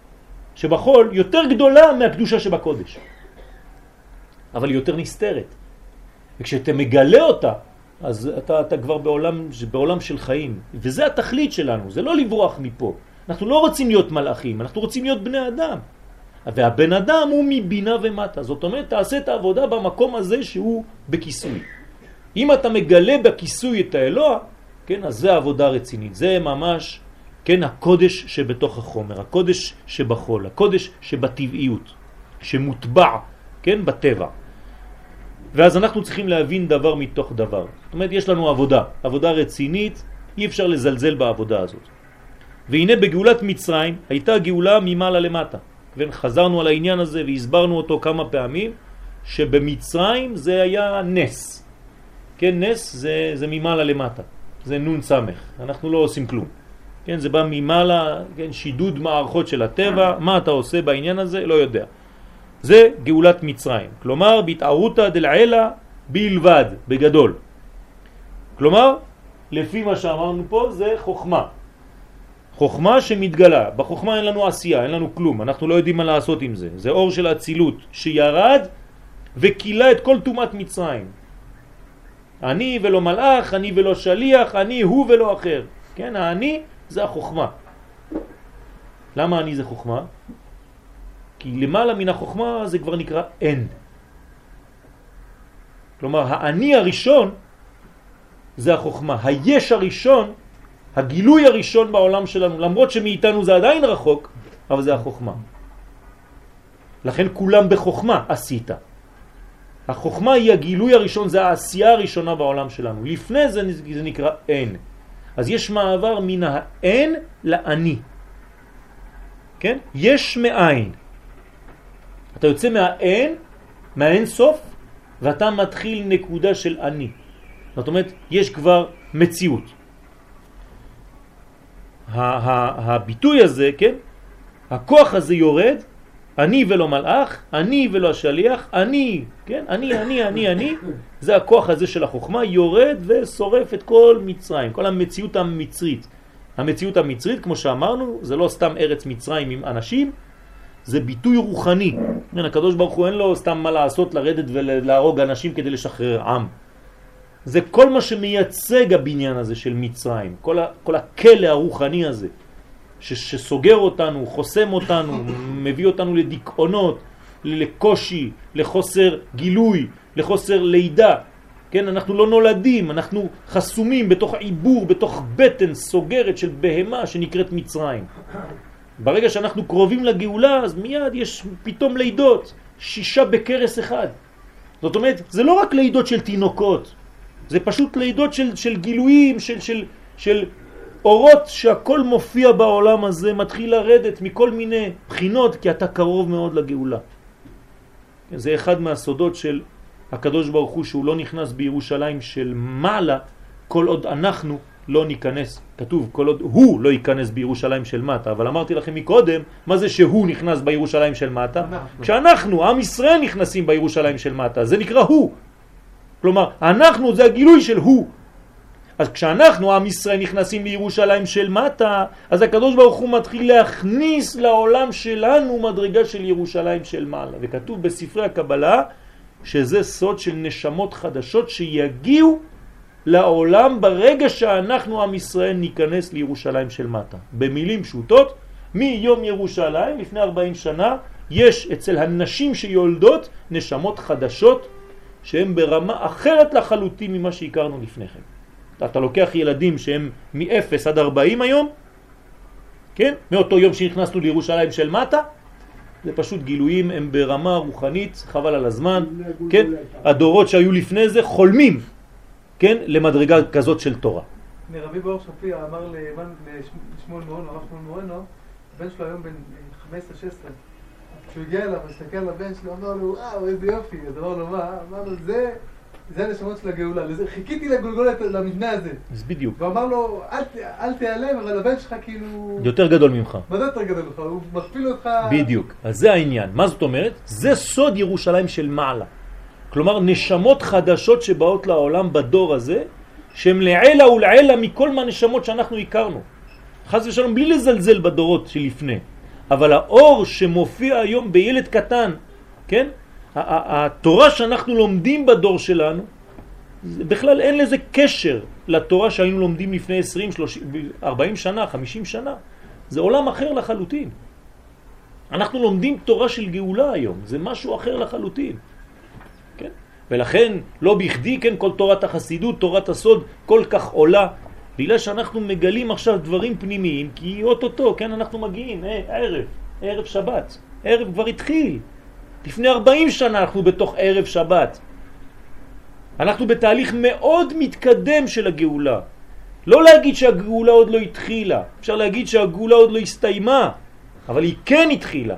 Speaker 1: שבחול, יותר גדולה מהקדושה שבקודש. אבל היא יותר נסתרת. וכשאתה מגלה אותה, אז אתה, אתה כבר בעולם, בעולם של חיים. וזה התכלית שלנו, זה לא לברוח מפה. אנחנו לא רוצים להיות מלאכים, אנחנו רוצים להיות בני אדם. והבן אדם הוא מבינה ומטה. זאת אומרת, תעשה את העבודה במקום הזה שהוא בכיסוי. אם אתה מגלה בכיסוי את האלוה, כן, אז זה עבודה רצינית. זה ממש, כן, הקודש שבתוך החומר, הקודש שבחול, הקודש שבטבעיות, שמוטבע, כן, בטבע. ואז אנחנו צריכים להבין דבר מתוך דבר. זאת אומרת, יש לנו עבודה, עבודה רצינית, אי אפשר לזלזל בעבודה הזאת. והנה בגאולת מצרים הייתה גאולה ממעלה למטה. וחזרנו על העניין הזה והסברנו אותו כמה פעמים, שבמצרים זה היה נס. כן, נס זה, זה ממעלה למטה. זה נון סמך. אנחנו לא עושים כלום. כן, זה בא ממעלה, כן, שידוד מערכות של הטבע. מה אתה עושה בעניין הזה? לא יודע. זה גאולת מצרים. כלומר, בהתערותא דלעילא בלבד, בגדול. כלומר, לפי מה שאמרנו פה, זה חוכמה. חוכמה שמתגלה. בחוכמה אין לנו עשייה, אין לנו כלום. אנחנו לא יודעים מה לעשות עם זה. זה אור של הצילות שירד וקילה את כל תומת מצרים. אני ולא מלאך, אני ולא שליח, אני הוא ולא אחר. כן, אני זה החוכמה. למה אני זה חוכמה? כי למעלה מן החוכמה זה כבר נקרא אין. כלומר, האני הראשון זה החוכמה. היש הראשון, הגילוי הראשון בעולם שלנו, למרות שמאיתנו זה עדיין רחוק, אבל זה החוכמה. לכן כולם בחוכמה עשית. החוכמה היא הגילוי הראשון, זה העשייה הראשונה בעולם שלנו. לפני זה זה נקרא אין. אז יש מעבר מן האין לאני. כן? יש מאין. אתה יוצא מהאין, מהאין סוף, ואתה מתחיל נקודה של אני. זאת אומרת, יש כבר מציאות. הביטוי הזה, כן, הכוח הזה יורד, אני ולא מלאך, אני ולא השליח, אני, כן? אני, אני, אני, אני, זה הכוח הזה של החוכמה, יורד ושורף את כל מצרים, כל המציאות המצרית. המציאות המצרית, כמו שאמרנו, זה לא סתם ארץ מצרים עם אנשים, זה ביטוי רוחני. הקדוש ברוך הוא אין לו סתם מה לעשות, לרדת ולהרוג אנשים כדי לשחרר עם. זה כל מה שמייצג הבניין הזה של מצרים, כל, ה, כל הכלא הרוחני הזה, ש, שסוגר אותנו, חוסם אותנו, מביא אותנו לדיכאונות, לקושי, לחוסר גילוי, לחוסר לידה. כן, אנחנו לא נולדים, אנחנו חסומים בתוך עיבור, בתוך בטן סוגרת של בהמה שנקראת מצרים. ברגע שאנחנו קרובים לגאולה, אז מיד יש פתאום לידות, שישה בקרס אחד. זאת אומרת, זה לא רק לידות של תינוקות, זה פשוט לידות של, של גילויים, של, של, של אורות שהכל מופיע בעולם הזה, מתחיל לרדת מכל מיני בחינות, כי אתה קרוב מאוד לגאולה. זה אחד מהסודות של הקדוש ברוך הוא, שהוא לא נכנס בירושלים של מעלה, כל עוד אנחנו לא ניכנס. כתוב, כל עוד הוא לא ייכנס בירושלים של מטה. אבל אמרתי לכם מקודם, מה זה שהוא נכנס בירושלים של מטה? כשאנחנו, עם ישראל, נכנסים בירושלים של מטה, זה נקרא הוא. כלומר, אנחנו זה הגילוי של הוא. אז כשאנחנו, עם ישראל, נכנסים לירושלים של מטה, אז הקדוש ברוך הוא מתחיל להכניס לעולם שלנו מדרגה של ירושלים של מעלה. וכתוב בספרי הקבלה שזה סוד של נשמות חדשות שיגיעו לעולם ברגע שאנחנו, עם ישראל, ניכנס לירושלים של מטה. במילים פשוטות, מיום ירושלים, לפני ארבעים שנה, יש אצל הנשים שיולדות נשמות חדשות שהן ברמה אחרת לחלוטין ממה שהכרנו לפני כן. אתה לוקח ילדים שהם מ-אפס עד ארבעים היום, כן? מאותו יום שנכנסנו לירושלים של מטה, זה פשוט גילויים, הם ברמה רוחנית, חבל על הזמן, כן? הדורות שהיו לפני זה חולמים, כן? למדרגה כזאת של תורה.
Speaker 3: רבי באור שפירא אמר לשמואל מורנו, הרב שמואל מורנו, הבן שלו היום בן חמש עשרה שש עשרה, כשהוא הגיע אליו, הסתכל על הבן שלו, אמר לו, וואו, איזה יופי, אז אמר לו, מה? אמר לו, זה... זה הנשמות של הגאולה, חיכיתי לגולגולת למבנה הזה.
Speaker 1: אז בדיוק.
Speaker 3: ואמר לו, אל, אל תיעלם, אבל הבן שלך כאילו...
Speaker 1: יותר גדול ממך.
Speaker 3: מה זה יותר גדול ממך? הוא מכפיל אותך...
Speaker 1: בדיוק. אז זה העניין. מה זאת אומרת? זה סוד ירושלים של מעלה. כלומר, נשמות חדשות שבאות לעולם בדור הזה, שהן לעלה ולעלה מכל מה נשמות שאנחנו הכרנו. חס ושלום, בלי לזלזל בדורות שלפני. אבל האור שמופיע היום בילד קטן, כן? התורה שאנחנו לומדים בדור שלנו, בכלל אין לזה קשר לתורה שהיינו לומדים לפני עשרים, שלושים, ארבעים שנה, חמישים שנה. זה עולם אחר לחלוטין. אנחנו לומדים תורה של גאולה היום, זה משהו אחר לחלוטין. כן? ולכן לא בכדי, כן, כל תורת החסידות, תורת הסוד, כל כך עולה, בגלל שאנחנו מגלים עכשיו דברים פנימיים, כי אוטוטו, כן, אנחנו מגיעים, אה, ערב, ערב שבת, ערב כבר התחיל. לפני ארבעים שנה אנחנו בתוך ערב שבת. אנחנו בתהליך מאוד מתקדם של הגאולה. לא להגיד שהגאולה עוד לא התחילה. אפשר להגיד שהגאולה עוד לא הסתיימה, אבל היא כן התחילה.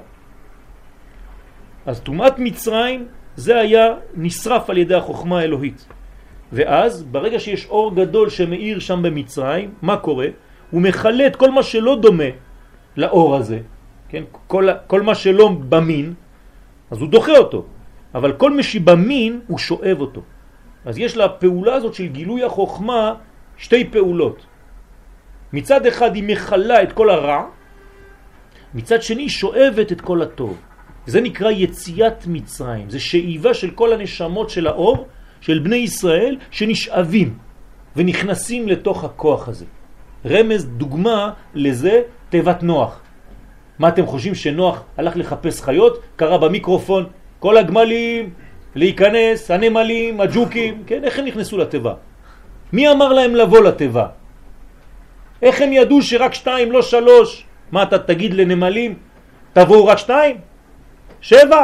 Speaker 1: אז תומת מצרים זה היה נשרף על ידי החוכמה האלוהית. ואז ברגע שיש אור גדול שמאיר שם במצרים, מה קורה? הוא מחלה את כל מה שלא דומה לאור הזה. כן? כל, כל מה שלא במין, אז הוא דוחה אותו, אבל כל מי שבמין הוא שואב אותו. אז יש לה פעולה הזאת של גילוי החוכמה שתי פעולות. מצד אחד היא מחלה את כל הרע, מצד שני היא שואבת את כל הטוב. זה נקרא יציאת מצרים, זה שאיבה של כל הנשמות של האור, של בני ישראל, שנשאבים ונכנסים לתוך הכוח הזה. רמז, דוגמה לזה, תיבת נוח. מה אתם חושבים שנוח הלך לחפש חיות? קרא במיקרופון, כל הגמלים, להיכנס, הנמלים, הג'וקים, כן? איך הם נכנסו לטבע? מי אמר להם לבוא לטבע? איך הם ידעו שרק שתיים, לא שלוש? מה אתה תגיד לנמלים? תבואו רק שתיים? שבע?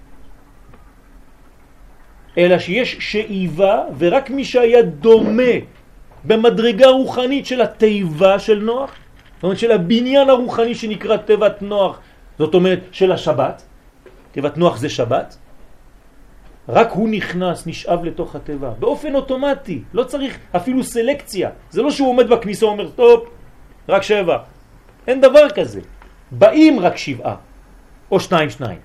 Speaker 1: אלא שיש שאיבה, ורק מי שהיה דומה במדרגה רוחנית של הטבע של נוח, זאת אומרת של הבניין הרוחני שנקרא תיבת נוח, זאת אומרת של השבת, תיבת נוח זה שבת, רק הוא נכנס, נשאב לתוך הטבע, באופן אוטומטי, לא צריך אפילו סלקציה, זה לא שהוא עומד בכניסה ואומר, טוב, רק שבע, אין דבר כזה, באים רק שבעה, או שניים שניים.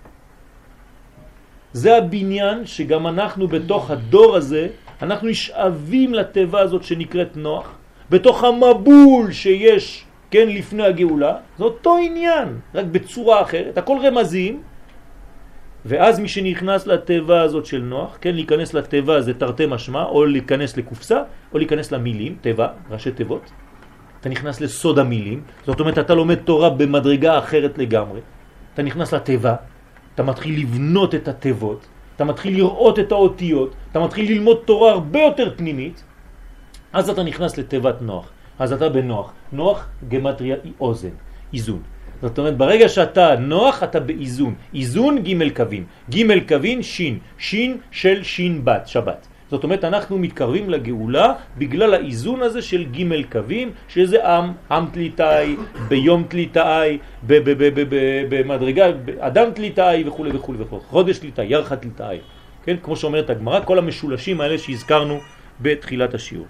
Speaker 1: זה הבניין שגם אנחנו בתוך הדור הזה, אנחנו נשאבים לטבע הזאת שנקראת נוח, בתוך המבול שיש, כן, לפני הגאולה, זה אותו עניין, רק בצורה אחרת, הכל רמזים, ואז מי שנכנס לטבע הזאת של נוח, כן, להיכנס לטבע זה תרתי משמע, או להיכנס לקופסה, או להיכנס למילים, טבע, ראשי תיבות, אתה נכנס לסוד המילים, זאת אומרת אתה לומד תורה במדרגה אחרת לגמרי, אתה נכנס לטבע, אתה מתחיל לבנות את הטבות, אתה מתחיל לראות את האותיות, אתה מתחיל ללמוד תורה הרבה יותר פנימית, אז אתה נכנס לטבת נוח, אז אתה בנוח, נוח גמטריה אוזן, איזון. זאת אומרת, ברגע שאתה נוח, אתה באיזון, איזון ג' קווים, ג' קווים שין, שין של שין בת, שבת. זאת אומרת, אנחנו מתקרבים לגאולה בגלל האיזון הזה של ג' קווים, שזה עם, עם תליטאי, ביום תליטאי, במדרגה, אדם תליטאי וכו' וכו' וכו', חודש תליטאי, ירחה תליטאי. כן? כמו שאומרת הגמרא, כל המשולשים האלה שהזכרנו בתחילת השיעור.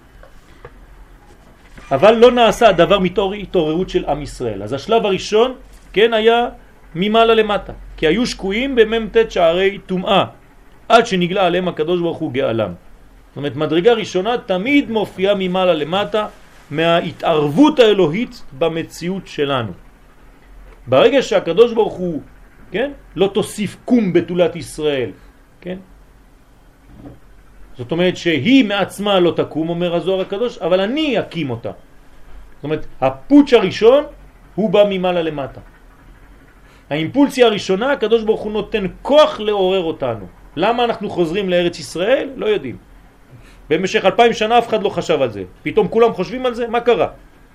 Speaker 1: אבל לא נעשה הדבר מתור התעוררות של עם ישראל. אז השלב הראשון, כן, היה ממעלה למטה. כי היו שקועים במ"ט שערי טומאה, עד שנגלה עליהם הקדוש ברוך הוא גאלם. זאת אומרת, מדרגה ראשונה תמיד מופיעה ממעלה למטה, מההתערבות האלוהית במציאות שלנו. ברגע שהקדוש ברוך הוא, כן, לא תוסיף קום בתולת ישראל, כן? זאת אומרת שהיא מעצמה לא תקום, אומר הזוהר הקדוש, אבל אני אקים אותה. זאת אומרת, הפוטש הראשון הוא בא ממעלה למטה. האימפולסיה הראשונה, הקדוש ברוך הוא נותן כוח לעורר אותנו. למה אנחנו חוזרים לארץ ישראל? לא יודעים. במשך אלפיים שנה אף אחד לא חשב על זה. פתאום כולם חושבים על זה? מה קרה?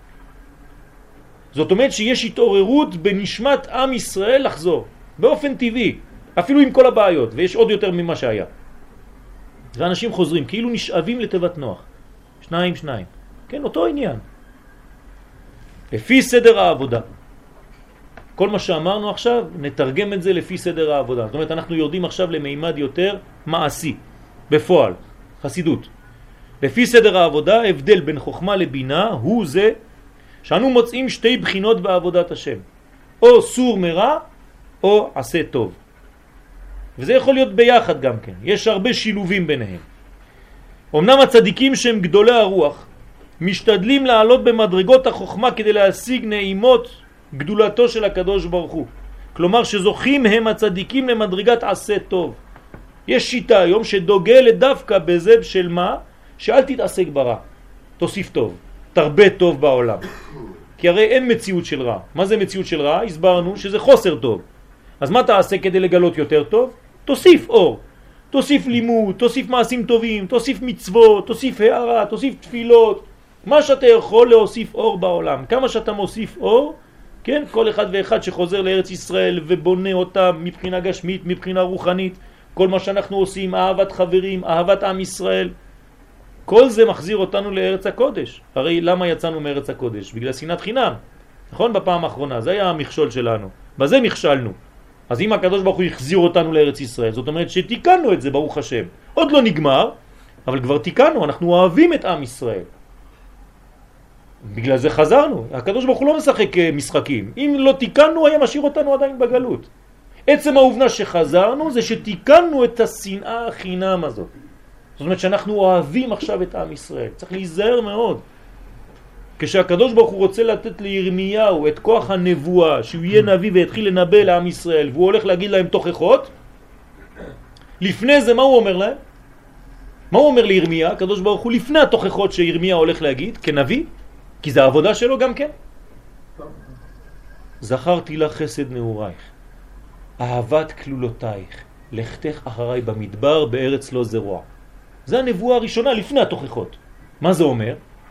Speaker 1: זאת אומרת שיש התעוררות בנשמת עם ישראל לחזור. באופן טבעי. אפילו עם כל הבעיות. ויש עוד יותר ממה שהיה. ואנשים חוזרים, כאילו נשאבים לטבת נוח. שניים, שניים. כן, אותו עניין. לפי סדר העבודה. כל מה שאמרנו עכשיו, נתרגם את זה לפי סדר העבודה. זאת אומרת, אנחנו יורדים עכשיו למימד יותר מעשי, בפועל, חסידות. לפי סדר העבודה, הבדל בין חוכמה לבינה הוא זה שאנו מוצאים שתי בחינות בעבודת השם. או סור מרע, או עשה טוב. וזה יכול להיות ביחד גם כן. יש הרבה שילובים ביניהם. אמנם הצדיקים שהם גדולי הרוח, משתדלים לעלות במדרגות החוכמה כדי להשיג נעימות גדולתו של הקדוש ברוך הוא. כלומר שזוכים הם הצדיקים למדרגת עשה טוב. יש שיטה היום שדוגלת דווקא בזה של מה? שאל תתעסק ברע, תוסיף טוב, תרבה טוב בעולם. כי הרי אין מציאות של רע. מה זה מציאות של רע? הסברנו שזה חוסר טוב. אז מה תעשה כדי לגלות יותר טוב? תוסיף אור, תוסיף לימוד, תוסיף מעשים טובים, תוסיף מצוות, תוסיף הערה, תוסיף תפילות. מה שאתה יכול להוסיף אור בעולם. כמה שאתה מוסיף אור, כן, כל אחד ואחד שחוזר לארץ ישראל ובונה אותה מבחינה גשמית, מבחינה רוחנית, כל מה שאנחנו עושים, אהבת חברים, אהבת עם ישראל, כל זה מחזיר אותנו לארץ הקודש. הרי למה יצאנו מארץ הקודש? בגלל שנאת חינם. נכון? בפעם האחרונה, זה היה המכשול שלנו. בזה נכשלנו. אז אם הקדוש ברוך הוא יחזיר אותנו לארץ ישראל, זאת אומרת שתיקנו את זה, ברוך השם. עוד לא נגמר, אבל כבר תיקנו, אנחנו אוהבים את עם ישראל. בגלל זה חזרנו. הקדוש ברוך הוא לא משחק משחקים. אם לא תיקנו, היה משאיר אותנו עדיין בגלות. עצם העובדה שחזרנו זה שתיקנו את השנאה החינם הזאת. זאת אומרת שאנחנו אוהבים עכשיו את עם ישראל. צריך להיזהר מאוד. כשהקדוש ברוך הוא רוצה לתת לירמיהו את כוח הנבואה, שהוא יהיה נביא ויתחיל לנבא לעם ישראל, והוא הולך להגיד להם תוכחות, לפני זה מה הוא אומר להם? מה הוא אומר לירמיה? הקדוש ברוך הוא לפני התוכחות שירמיה הולך להגיד, כנביא, כי זה העבודה שלו גם כן. זכרתי לך חסד נעורייך, אהבת כלולותייך, לכתך אחריי במדבר בארץ לא זרוע. זה הנבואה הראשונה לפני התוכחות. מה זה אומר?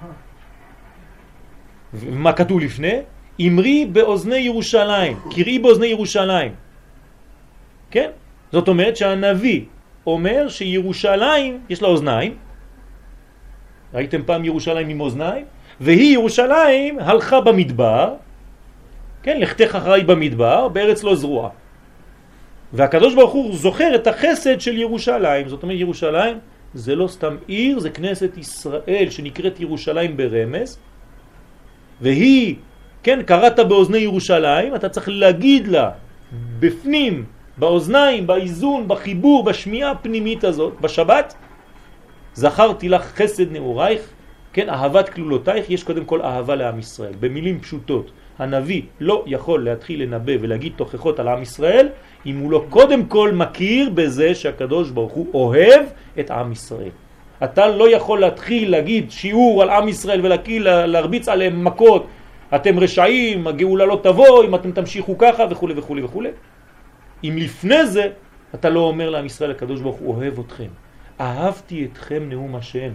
Speaker 1: מה כתוב לפני? אמרי באוזני ירושלים, קראי באוזני ירושלים. כן? זאת אומרת שהנביא אומר שירושלים יש לה אוזניים. ראיתם פעם ירושלים עם אוזניים? והיא ירושלים הלכה במדבר, כן, לכתך אחריי במדבר בארץ לא זרוע. והקדוש ברוך הוא זוכר את החסד של ירושלים. זאת אומרת ירושלים זה לא סתם עיר, זה כנסת ישראל שנקראת ירושלים ברמז, והיא, כן, קראת באוזני ירושלים, אתה צריך להגיד לה בפנים, באוזניים, באיזון, בחיבור, בשמיעה הפנימית הזאת, בשבת, זכרתי לך חסד נעורייך, כן, אהבת כלולותייך. יש קודם כל אהבה לעם ישראל. במילים פשוטות, הנביא לא יכול להתחיל לנבא ולהגיד תוכחות על עם ישראל אם הוא לא קודם כל מכיר בזה שהקדוש ברוך הוא אוהב את עם ישראל. אתה לא יכול להתחיל להגיד שיעור על עם ישראל ולהרביץ עליהם מכות, אתם רשעים, הגאולה לא תבוא אם אתם תמשיכו ככה וכו' וכו' וכו'. אם לפני זה אתה לא אומר לעם ישראל הקדוש ברוך הוא אוהב אתכם, אהבתי אתכם נאום השם.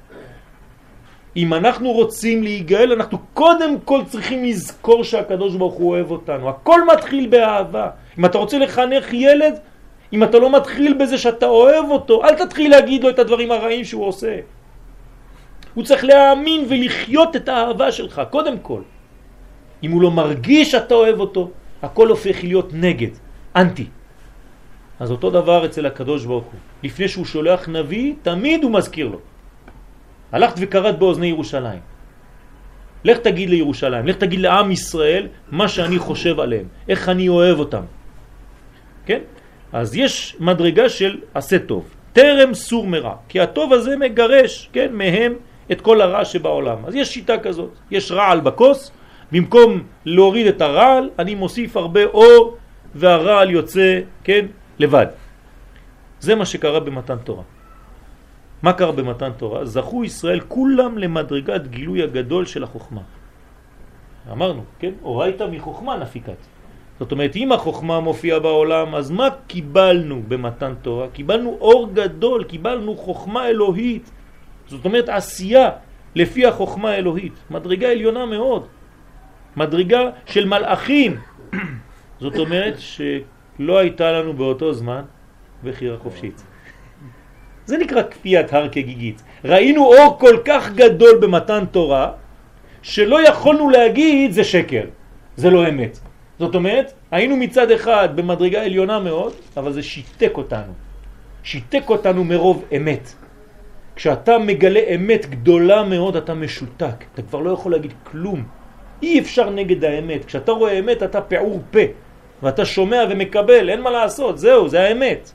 Speaker 1: אם אנחנו רוצים להיגאל, אנחנו קודם כל צריכים לזכור שהקדוש ברוך הוא אוהב אותנו. הכל מתחיל באהבה. אם אתה רוצה לחנך ילד, אם אתה לא מתחיל בזה שאתה אוהב אותו, אל תתחיל להגיד לו את הדברים הרעים שהוא עושה. הוא צריך להאמין ולחיות את האהבה שלך, קודם כל. אם הוא לא מרגיש שאתה אוהב אותו, הכל הופך להיות נגד, אנטי. אז אותו דבר אצל הקדוש ברוך הוא. לפני שהוא שולח נביא, תמיד הוא מזכיר לו. הלכת וקראת באוזני ירושלים. לך תגיד לירושלים, לך תגיד לעם ישראל מה שאני חושב עליהם, איך אני אוהב אותם. כן? אז יש מדרגה של עשה טוב, תרם סור מרע, כי הטוב הזה מגרש, כן, מהם את כל הרע שבעולם. אז יש שיטה כזאת, יש רעל בכוס, במקום להוריד את הרעל, אני מוסיף הרבה אור, והרעל יוצא, כן, לבד. זה מה שקרה במתן תורה. מה קרה במתן תורה? זכו ישראל כולם למדרגת גילוי הגדול של החוכמה. אמרנו, כן? אורייתא מחוכמה נפיקת. זאת אומרת, אם החוכמה מופיעה בעולם, אז מה קיבלנו במתן תורה? קיבלנו אור גדול, קיבלנו חוכמה אלוהית. זאת אומרת, עשייה לפי החוכמה האלוהית. מדרגה עליונה מאוד. מדרגה של מלאכים. זאת אומרת שלא הייתה לנו באותו זמן בחירה חופשית. זה נקרא כפיית הר כגיגית. ראינו אור כל כך גדול במתן תורה, שלא יכולנו להגיד זה שקר, זה לא אמת. זאת אומרת, היינו מצד אחד במדרגה עליונה מאוד, אבל זה שיתק אותנו. שיתק אותנו מרוב אמת. כשאתה מגלה אמת גדולה מאוד, אתה משותק. אתה כבר לא יכול להגיד כלום. אי אפשר נגד האמת. כשאתה רואה אמת, אתה פעור פה. ואתה שומע ומקבל, אין מה לעשות, זהו, זה האמת.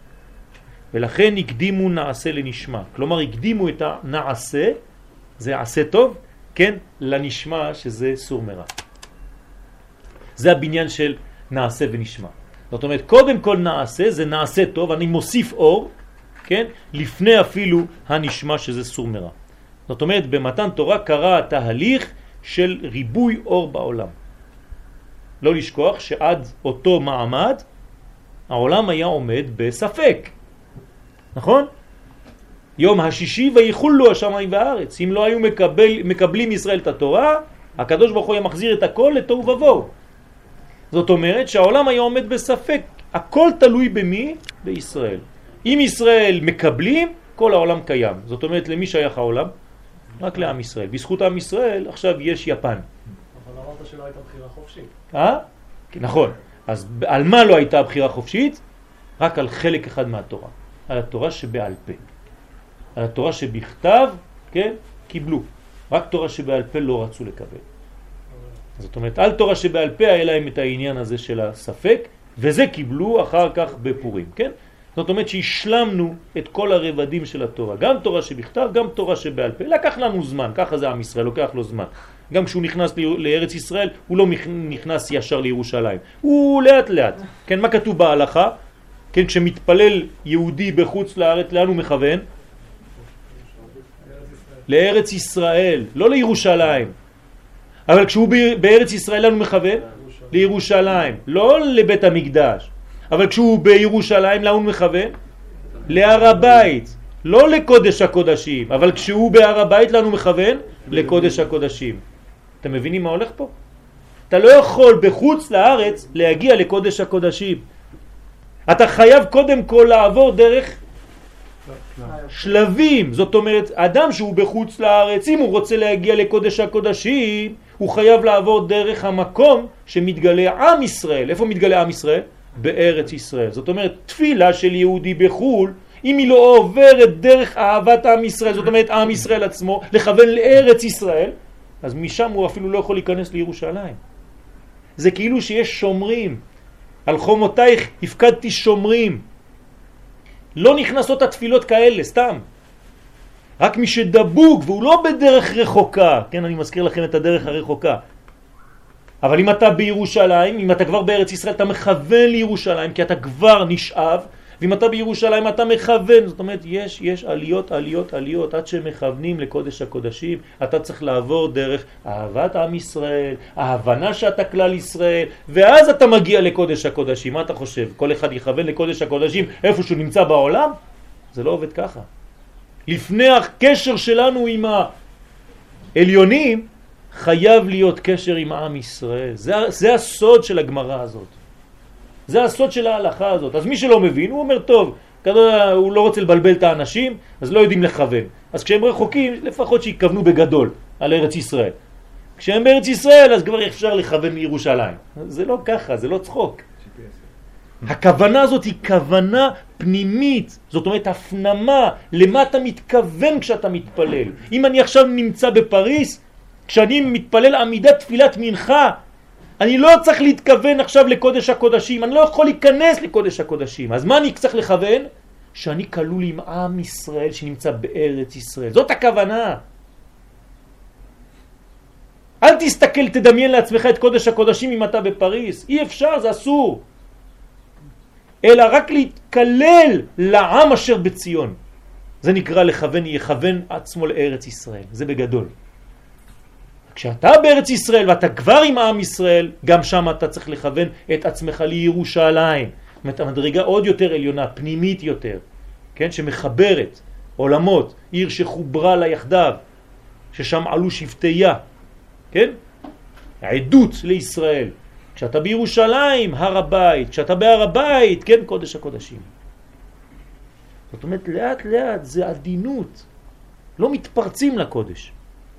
Speaker 1: ולכן הקדימו נעשה לנשמה. כלומר, הקדימו את הנעשה, זה עשה טוב, כן, לנשמה שזה סור מרע. זה הבניין של נעשה ונשמה. זאת אומרת, קודם כל נעשה, זה נעשה טוב, אני מוסיף אור, כן, לפני אפילו הנשמה שזה סור מרע. זאת אומרת, במתן תורה קרה תהליך של ריבוי אור בעולם. לא לשכוח שעד אותו מעמד, העולם היה עומד בספק. נכון? יום השישי ויחולו השמיים והארץ. אם לא היו מקבל, מקבלים ישראל את התורה, הקדוש ברוך הוא היה מחזיר את הכל לתוהו ובוהו. זאת אומרת שהעולם היה עומד בספק. הכל תלוי במי? בישראל. אם ישראל מקבלים, כל העולם קיים. זאת אומרת, למי שייך העולם? רק לעם ישראל. בזכות עם ישראל עכשיו יש יפן.
Speaker 2: אבל אמרת שלא הייתה בחירה חופשית.
Speaker 1: אה? נכון. אז על מה לא הייתה בחירה חופשית? רק על חלק אחד מהתורה. על התורה שבעל פה. על התורה שבכתב, כן, קיבלו. רק תורה שבעל פה לא רצו לקבל. זאת אומרת, על תורה שבעל פה היה להם את העניין הזה של הספק, וזה קיבלו אחר כך בפורים, כן? זאת אומרת שהשלמנו את כל הרבדים של התורה. גם תורה שבכתב, גם תורה שבעל פה. לקח לנו זמן, ככה זה עם ישראל, לוקח לו זמן. גם כשהוא נכנס לארץ ישראל, הוא לא נכנס ישר לירושלים. הוא לאט לאט. כן, מה כתוב בהלכה? כן, כשמתפלל יהודי בחוץ לארץ, לאן הוא מכוון? לארץ ישראל, לא לירושלים. אבל כשהוא בארץ ישראל, לאן הוא מכוון? לירושלים, לא לבית המקדש. אבל כשהוא בירושלים, לאן הוא מכוון? להר הבית, לא לקודש הקודשים. אבל כשהוא בהר הבית, לאן הוא מכוון? לקודש הקודשים. אתם מבינים מה הולך פה? אתה לא יכול בחוץ לארץ להגיע לקודש הקודשים. אתה חייב קודם כל לעבור דרך שלבים. זאת אומרת, אדם שהוא בחוץ לארץ, אם הוא רוצה להגיע לקודש הקודשים, הוא חייב לעבור דרך המקום שמתגלה עם ישראל. איפה מתגלה עם ישראל? בארץ ישראל. זאת אומרת, תפילה של יהודי בחול, אם היא לא עוברת דרך אהבת עם ישראל, זאת אומרת, עם ישראל עצמו, לכוון לארץ ישראל, אז משם הוא אפילו לא יכול להיכנס לירושלים. זה כאילו שיש שומרים. על חומותייך הפקדתי שומרים. לא נכנסות התפילות כאלה, סתם. רק מי שדבוק, והוא לא בדרך רחוקה. כן, אני מזכיר לכם את הדרך הרחוקה. אבל אם אתה בירושלים, אם אתה כבר בארץ ישראל, אתה מכוון לירושלים, כי אתה כבר נשאב, ואם אתה בירושלים אתה מכוון. זאת אומרת, יש, יש עליות, עליות, עליות, עד שמכוונים לקודש הקודשים. אתה צריך לעבור דרך אהבת עם ישראל, ההבנה שאתה כלל ישראל, ואז אתה מגיע לקודש הקודשים. מה אתה חושב? כל אחד יכוון לקודש הקודשים איפה שהוא נמצא בעולם? זה לא עובד ככה. לפני הקשר שלנו עם העליונים, חייב להיות קשר עם עם ישראל. זה, זה הסוד של הגמרא הזאת. זה הסוד של ההלכה הזאת. אז מי שלא מבין, הוא אומר, טוב, כדא, הוא לא רוצה לבלבל את האנשים, אז לא יודעים לכוון. אז כשהם רחוקים, לפחות שיכוונו בגדול על ארץ ישראל. כשהם בארץ ישראל, אז כבר אפשר לכוון לירושלים. זה לא ככה, זה לא צחוק. הכוונה הזאת היא כוונה פנימית, זאת אומרת הפנמה, למה אתה מתכוון כשאתה מתפלל. אם אני עכשיו נמצא בפריס, כשאני מתפלל עמידת תפילת מנחה, אני לא צריך להתכוון עכשיו לקודש הקודשים, אני לא יכול להיכנס לקודש הקודשים. אז מה אני צריך לכוון? שאני כלול עם עם ישראל שנמצא בארץ ישראל. זאת הכוונה. אל תסתכל, תדמיין לעצמך את קודש הקודשים אם אתה בפריס. אי אפשר, זה אסור. אלא רק להתקלל לעם אשר בציון. זה נקרא לכוון, יכוון עצמו לארץ ישראל. זה בגדול. כשאתה בארץ ישראל ואתה כבר עם עם ישראל, גם שם אתה צריך לכוון את עצמך לירושלים. זאת אומרת, המדרגה עוד יותר עליונה, פנימית יותר, כן? שמחברת עולמות, עיר שחוברה לה יחדיו, ששם עלו שבטיה, כן? עדות לישראל. כשאתה בירושלים, הר הבית, כשאתה בהר הבית, כן, קודש הקודשים. זאת אומרת, לאט לאט זה עדינות. לא מתפרצים לקודש.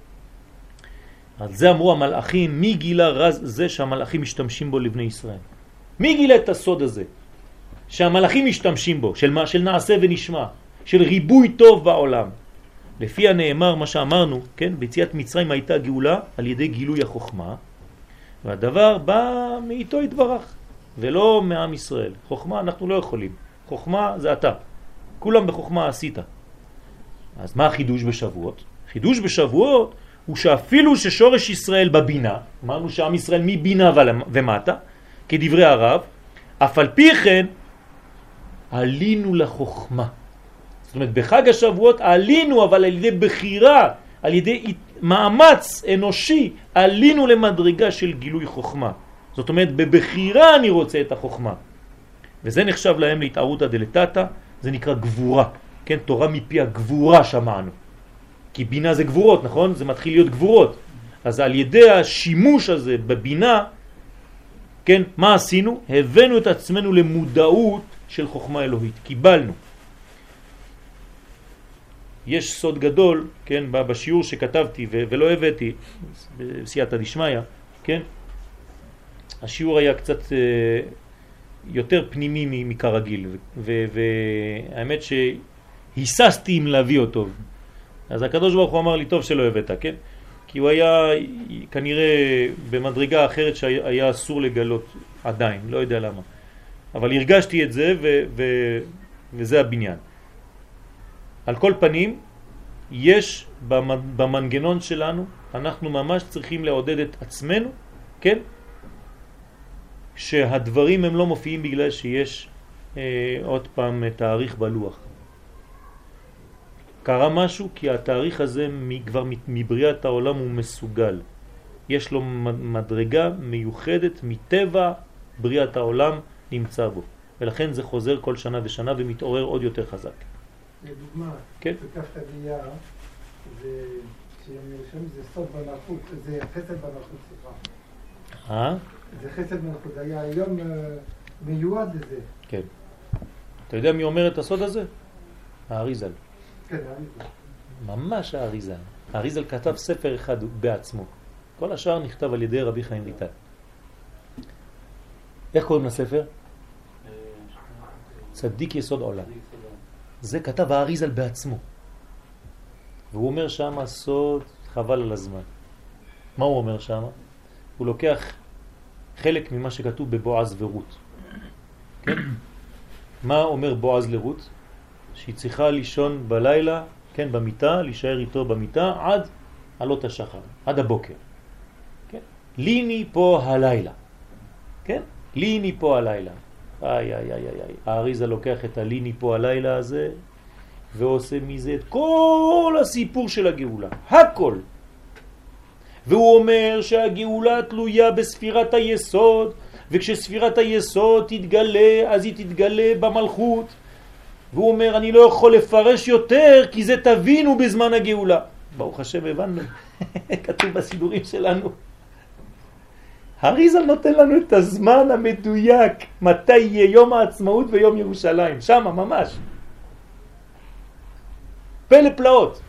Speaker 1: על זה אמרו המלאכים, מי גילה רז זה שהמלאכים משתמשים בו לבני ישראל? מי גילה את הסוד הזה? שהמלאכים משתמשים בו, של מה? של נעשה ונשמע, של ריבוי טוב בעולם. לפי הנאמר, מה שאמרנו, כן, ביציאת מצרים הייתה גאולה על ידי גילוי החוכמה, והדבר בא מאיתו יתברך, ולא מעם ישראל. חוכמה אנחנו לא יכולים. חוכמה זה אתה. כולם בחוכמה עשית. אז מה החידוש בשבועות? חידוש בשבועות הוא שאפילו ששורש ישראל בבינה, אמרנו שעם ישראל מבינה ומטה, כדברי הרב, אף על פי כן עלינו לחוכמה. זאת אומרת, בחג השבועות עלינו, אבל על ידי בחירה, על ידי מאמץ אנושי, עלינו למדרגה של גילוי חוכמה. זאת אומרת, בבחירה אני רוצה את החוכמה. וזה נחשב להם להתערותא דלתתא, זה נקרא גבורה. כן, תורה מפי הגבורה שמענו. כי בינה זה גבורות, נכון? זה מתחיל להיות גבורות. אז על ידי השימוש הזה בבינה, כן, מה עשינו? הבאנו את עצמנו למודעות של חוכמה אלוהית. קיבלנו. יש סוד גדול, כן, בשיעור שכתבתי ולא הבאתי, בסייעתא דשמיא, כן? השיעור היה קצת יותר פנימי מכרגיל, והאמת שהיססתי אם להביא אותו. אז הקדוש ברוך הוא אמר לי, טוב שלא הבאת, כן? כי הוא היה כנראה במדרגה אחרת שהיה אסור לגלות עדיין, לא יודע למה. אבל הרגשתי את זה ו- ו- וזה הבניין. על כל פנים, יש במנגנון שלנו, אנחנו ממש צריכים לעודד את עצמנו, כן? שהדברים הם לא מופיעים בגלל שיש אה, עוד פעם תאריך בלוח. קרה משהו כי התאריך הזה כבר מבריאת העולם הוא מסוגל. יש לו מדרגה מיוחדת מטבע בריאת העולם נמצא בו. ולכן זה חוזר כל שנה ושנה ומתעורר עוד יותר חזק.
Speaker 3: לדוגמה,
Speaker 1: כן?
Speaker 3: בכף תגיעה, זה זה סוד בנחות, זה חסד בנחות, סליחה.
Speaker 1: אה?
Speaker 3: זה חסד בנחות, זה היה היום מיועד לזה.
Speaker 1: כן. אתה יודע מי אומר את הסוד הזה? האריזל.
Speaker 3: כן, האריזל.
Speaker 1: ממש האריזל. האריזל כתב ספר אחד בעצמו. כל השאר נכתב על ידי רבי חיים ויטל. איך קוראים לספר? צדיק יסוד עולם. זה כתב האריזל בעצמו. והוא אומר שם סוד חבל על הזמן. מה הוא אומר שם? הוא לוקח חלק ממה שכתוב בבועז ורות. כן? מה אומר בועז לרות? שהיא צריכה לישון בלילה, כן, במיטה, להישאר איתו במיטה עד עלות השחר, עד הבוקר. כן? ליני פה הלילה. כן? ליני פה הלילה. איי, איי, איי, איי. האריזה לוקח את הליני פה הלילה הזה, ועושה מזה את כל הסיפור של הגאולה. הכל. והוא אומר שהגאולה תלויה בספירת היסוד, וכשספירת היסוד תתגלה, אז היא תתגלה במלכות. והוא אומר, אני לא יכול לפרש יותר, כי זה תבינו בזמן הגאולה. ברוך השם, הבנו. כתוב בסידורים שלנו. הריזל נותן לנו את הזמן המדויק, מתי יהיה יום העצמאות ויום ירושלים. שם, ממש. פלא פלאות.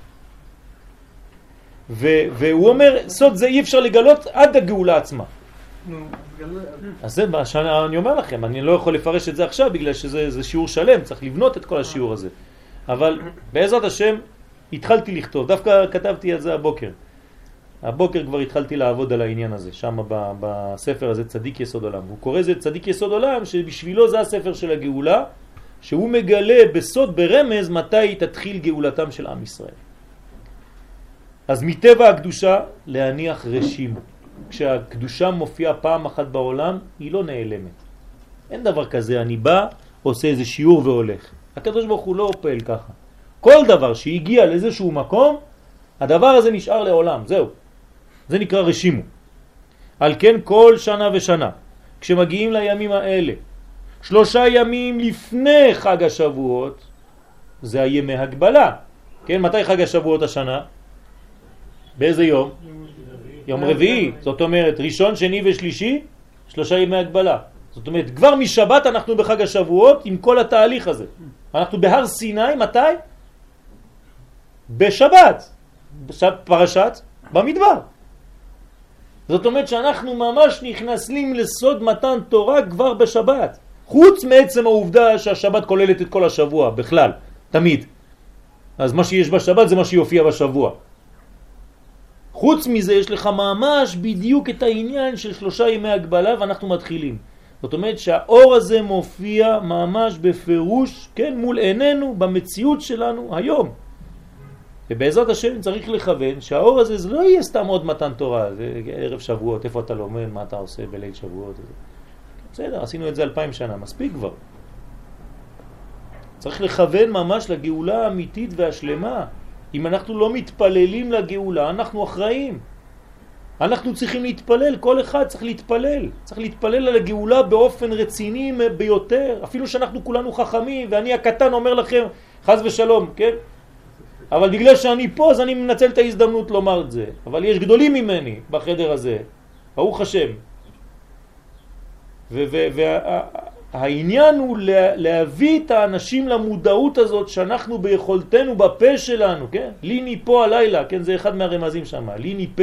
Speaker 1: והוא אומר, סוד זה אי אפשר לגלות עד הגאולה עצמה. אז זה מה שאני אומר לכם, אני לא יכול לפרש את זה עכשיו בגלל שזה שיעור שלם, צריך לבנות את כל השיעור הזה. אבל בעזרת השם התחלתי לכתוב, דווקא כתבתי את זה הבוקר. הבוקר כבר התחלתי לעבוד על העניין הזה, שם בספר הזה צדיק יסוד עולם. הוא קורא זה צדיק יסוד עולם, שבשבילו זה הספר של הגאולה, שהוא מגלה בסוד ברמז מתי תתחיל גאולתם של עם ישראל. אז מטבע הקדושה להניח רשימו. כשהקדושה מופיעה פעם אחת בעולם, היא לא נעלמת. אין דבר כזה, אני בא, עושה איזה שיעור והולך. הקדוש ברוך הוא לא פועל ככה. כל דבר שהגיע לאיזשהו מקום, הדבר הזה נשאר לעולם, זהו. זה נקרא רשימו. על כן כל שנה ושנה, כשמגיעים לימים האלה, שלושה ימים לפני חג השבועות, זה הימי הגבלה. כן, מתי חג השבועות השנה? באיזה יום? יום רביעי. זאת אומרת, ראשון, שני ושלישי, שלושה ימי הגבלה. זאת אומרת, כבר משבת אנחנו בחג השבועות עם כל התהליך הזה. אנחנו בהר סיני, מתי? בשבת. פרשת במדבר. זאת אומרת שאנחנו ממש נכנסים לסוד מתן תורה כבר בשבת. חוץ מעצם העובדה שהשבת כוללת את כל השבוע, בכלל, תמיד. אז מה שיש בשבת זה מה שיופיע בשבוע. חוץ מזה יש לך ממש בדיוק את העניין של שלושה ימי הגבלה ואנחנו מתחילים. זאת אומרת שהאור הזה מופיע ממש בפירוש, כן, מול עינינו, במציאות שלנו היום. ובעזרת השם צריך לכוון שהאור הזה זה לא יהיה סתם עוד מתן תורה, זה ערב שבועות, איפה אתה לומד, מה אתה עושה בליל שבועות. בסדר, עשינו את זה אלפיים שנה, מספיק כבר. צריך לכוון ממש לגאולה האמיתית והשלמה. אם אנחנו לא מתפללים לגאולה, אנחנו אחראים. אנחנו צריכים להתפלל, כל אחד צריך להתפלל. צריך להתפלל על הגאולה באופן רציני ביותר. אפילו שאנחנו כולנו חכמים, ואני הקטן אומר לכם, חס ושלום, כן? אבל בגלל שאני פה, אז אני מנצל את ההזדמנות לומר את זה. אבל יש גדולים ממני בחדר הזה. ברוך השם. והעניין הוא להביא את האנשים למודעות הזאת שאנחנו ביכולתנו בפה שלנו, כן? ליני פה הלילה, כן? זה אחד מהרמזים שם, ליני פה.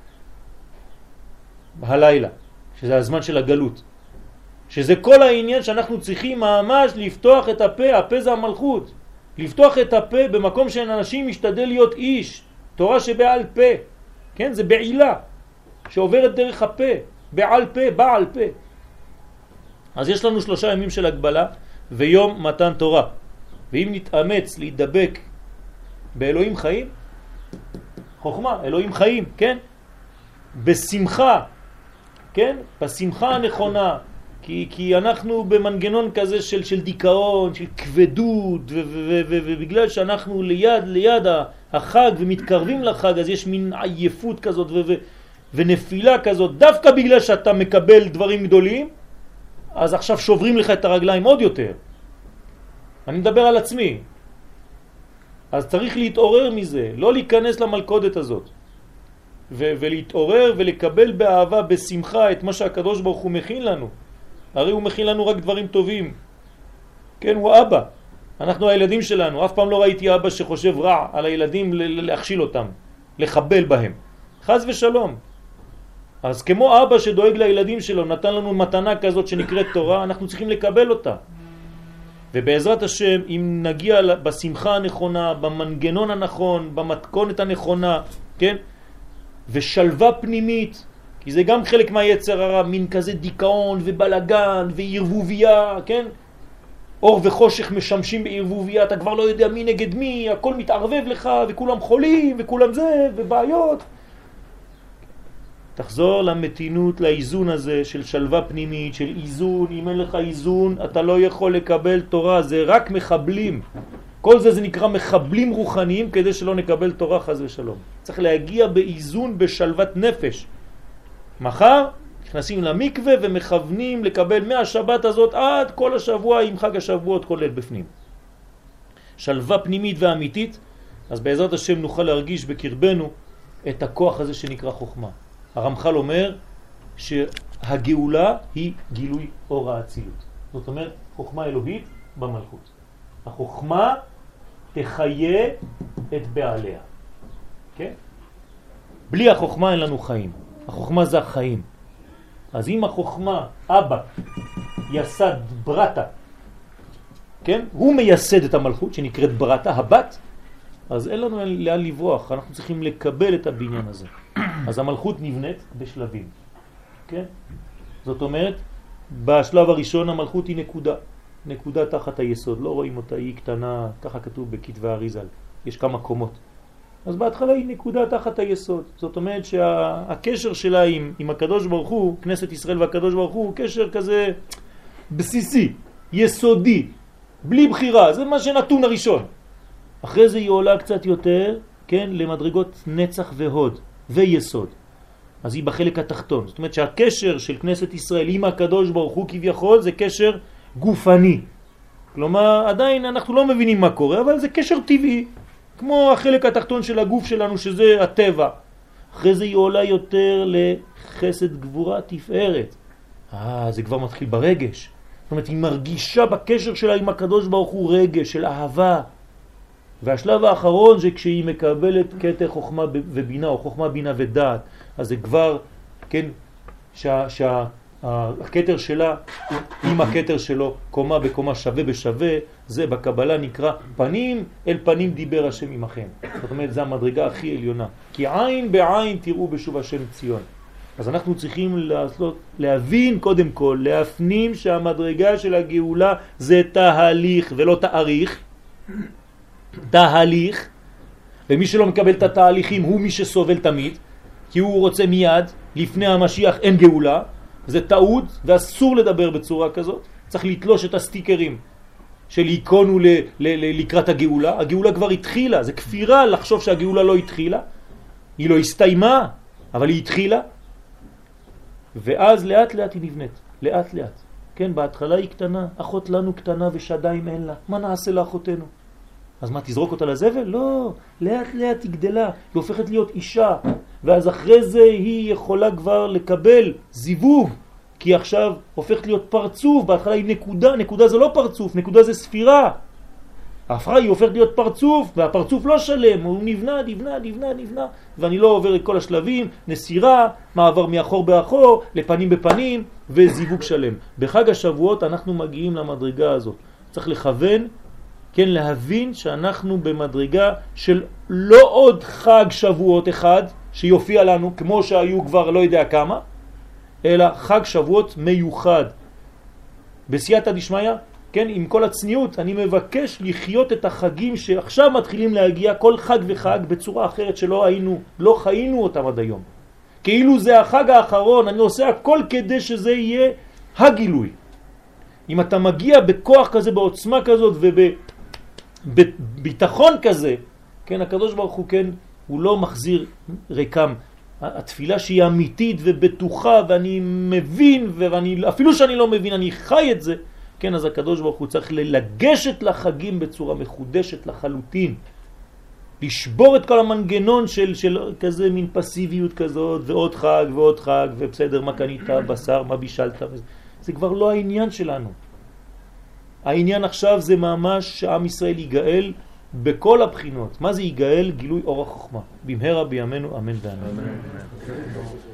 Speaker 1: הלילה, שזה הזמן של הגלות. שזה כל העניין שאנחנו צריכים ממש לפתוח את הפה, הפה זה המלכות. לפתוח את הפה במקום שאין אנשים משתדל להיות איש. תורה שבעל פה, כן? זה בעילה שעוברת דרך הפה, בעל פה, בעל פה. אז יש לנו שלושה ימים של הגבלה ויום מתן תורה. ואם נתאמץ להידבק באלוהים חיים, חוכמה, אלוהים חיים, כן? בשמחה, כן? בשמחה הנכונה, כי, כי אנחנו במנגנון כזה של, של דיכאון, של כבדות, ובגלל שאנחנו ליד, ליד החג ומתקרבים לחג, אז יש מין עייפות כזאת ו, ו, ונפילה כזאת, דווקא בגלל שאתה מקבל דברים גדולים, אז עכשיו שוברים לך את הרגליים עוד יותר. אני מדבר על עצמי. אז צריך להתעורר מזה, לא להיכנס למלכודת הזאת. ו- ולהתעורר ולקבל באהבה, בשמחה, את מה שהקדוש ברוך הוא מכין לנו. הרי הוא מכין לנו רק דברים טובים. כן, הוא אבא. אנחנו הילדים שלנו. אף פעם לא ראיתי אבא שחושב רע על הילדים להכשיל אותם, לחבל בהם. חס ושלום. אז כמו אבא שדואג לילדים שלו, נתן לנו מתנה כזאת שנקראת תורה, אנחנו צריכים לקבל אותה. ובעזרת השם, אם נגיע בשמחה הנכונה, במנגנון הנכון, במתכונת הנכונה, כן? ושלווה פנימית, כי זה גם חלק מהיצר הרע, מין כזה דיכאון ובלגן וערבוביה, כן? אור וחושך משמשים בערבוביה, אתה כבר לא יודע מי נגד מי, הכל מתערבב לך וכולם חולים וכולם זה ובעיות. תחזור למתינות, לאיזון הזה של שלווה פנימית, של איזון. אם אין לך איזון אתה לא יכול לקבל תורה, זה רק מחבלים. כל זה זה נקרא מחבלים רוחניים כדי שלא נקבל תורה חס ושלום. צריך להגיע באיזון בשלוות נפש. מחר נכנסים למקווה ומכוונים לקבל מהשבת הזאת עד כל השבוע עם חג השבועות כולל בפנים. שלווה פנימית ואמיתית, אז בעזרת השם נוכל להרגיש בקרבנו את הכוח הזה שנקרא חוכמה. הרמח"ל אומר שהגאולה היא גילוי אור האצילות. זאת אומרת, חוכמה אלוהית במלכות. החוכמה תחיה את בעליה. כן? בלי החוכמה אין לנו חיים. החוכמה זה החיים. אז אם החוכמה, אבא, יסד ברטה, כן? הוא מייסד את המלכות שנקראת ברטה, הבת, אז אין לנו לאן לברוח. אנחנו צריכים לקבל את הבניין הזה. אז המלכות נבנית בשלבים. כן? זאת אומרת, בשלב הראשון המלכות היא נקודה. נקודה תחת היסוד. לא רואים אותה, היא קטנה, ככה כתוב בכתבי אריזל. יש כמה קומות. אז בהתחלה היא נקודה תחת היסוד. זאת אומרת שהקשר שלה עם, עם הקדוש ברוך הוא, כנסת ישראל והקדוש ברוך הוא, קשר כזה בסיסי, יסודי, בלי בחירה. זה מה שנתון הראשון. אחרי זה היא עולה קצת יותר, כן, למדרגות נצח והוד ויסוד. אז היא בחלק התחתון. זאת אומרת שהקשר של כנסת ישראל עם הקדוש ברוך הוא כביכול זה קשר גופני. כלומר, עדיין אנחנו לא מבינים מה קורה, אבל זה קשר טבעי. כמו החלק התחתון של הגוף שלנו שזה הטבע. אחרי זה היא עולה יותר לחסד גבורה תפארת. אה, זה כבר מתחיל ברגש. זאת אומרת, היא מרגישה בקשר שלה עם הקדוש ברוך הוא רגש של אהבה. והשלב האחרון זה כשהיא מקבלת קטע חוכמה ובינה, או חוכמה בינה ודעת. אז זה כבר, כן, שה, שה, הקטר שלה עם הקטר שלו, קומה בקומה שווה בשווה, זה בקבלה נקרא פנים אל פנים דיבר השם עמכם. זאת אומרת, זה המדרגה הכי עליונה. כי עין בעין תראו בשוב השם ציון. אז אנחנו צריכים לעשות, להבין קודם כל, להפנים שהמדרגה של הגאולה זה תהליך ולא תאריך. תהליך, ומי שלא מקבל את התהליכים הוא מי שסובל תמיד, כי הוא רוצה מיד, לפני המשיח אין גאולה, זה טעות ואסור לדבר בצורה כזאת. צריך לתלוש את הסטיקרים של עיקונו ל- ל- ל- לקראת הגאולה. הגאולה כבר התחילה, זה כפירה לחשוב שהגאולה לא התחילה, היא לא הסתיימה, אבל היא התחילה, ואז לאט לאט היא נבנית, לאט לאט. כן, בהתחלה היא קטנה, אחות לנו קטנה ושדיים אין לה, מה נעשה לאחותנו? אז מה, תזרוק אותה לזבל? לא, לאט לאט היא גדלה, היא הופכת להיות אישה, ואז אחרי זה היא יכולה כבר לקבל זיווג, כי עכשיו הופכת להיות פרצוף, בהתחלה היא נקודה, נקודה זה לא פרצוף, נקודה זה ספירה. ההפרעה היא הופכת להיות פרצוף, והפרצוף לא שלם, הוא נבנה, נבנה, נבנה, נבנה, ואני לא עובר את כל השלבים, נסירה, מעבר מאחור באחור, לפנים בפנים, וזיווג שלם. בחג השבועות אנחנו מגיעים למדרגה הזאת. צריך לכוון, כן, להבין שאנחנו במדרגה של לא עוד חג שבועות אחד שיופיע לנו כמו שהיו כבר לא יודע כמה, אלא חג שבועות מיוחד. בסייעתא דשמיא, כן, עם כל הצניעות, אני מבקש לחיות את החגים שעכשיו מתחילים להגיע כל חג וחג בצורה אחרת שלא היינו, לא חיינו אותם עד היום. כאילו זה החג האחרון, אני עושה הכל כדי שזה יהיה הגילוי. אם אתה מגיע בכוח כזה, בעוצמה כזאת ובביטחון כזה, כן, הקדוש ברוך הוא, כן, הוא לא מחזיר ריקם. התפילה שהיא אמיתית ובטוחה ואני מבין, ואני, אפילו שאני לא מבין, אני חי את זה, כן, אז הקדוש ברוך הוא צריך לגשת לחגים בצורה מחודשת לחלוטין. לשבור את כל המנגנון של, של כזה מין פסיביות כזאת, ועוד חג ועוד חג, ובסדר, מה קנית, בשר, מה בישלת, זה כבר לא העניין שלנו. העניין עכשיו זה ממש שעם ישראל יגאל בכל הבחינות. מה זה יגאל? גילוי אור החוכמה. במהרה בימינו אמן ואמן.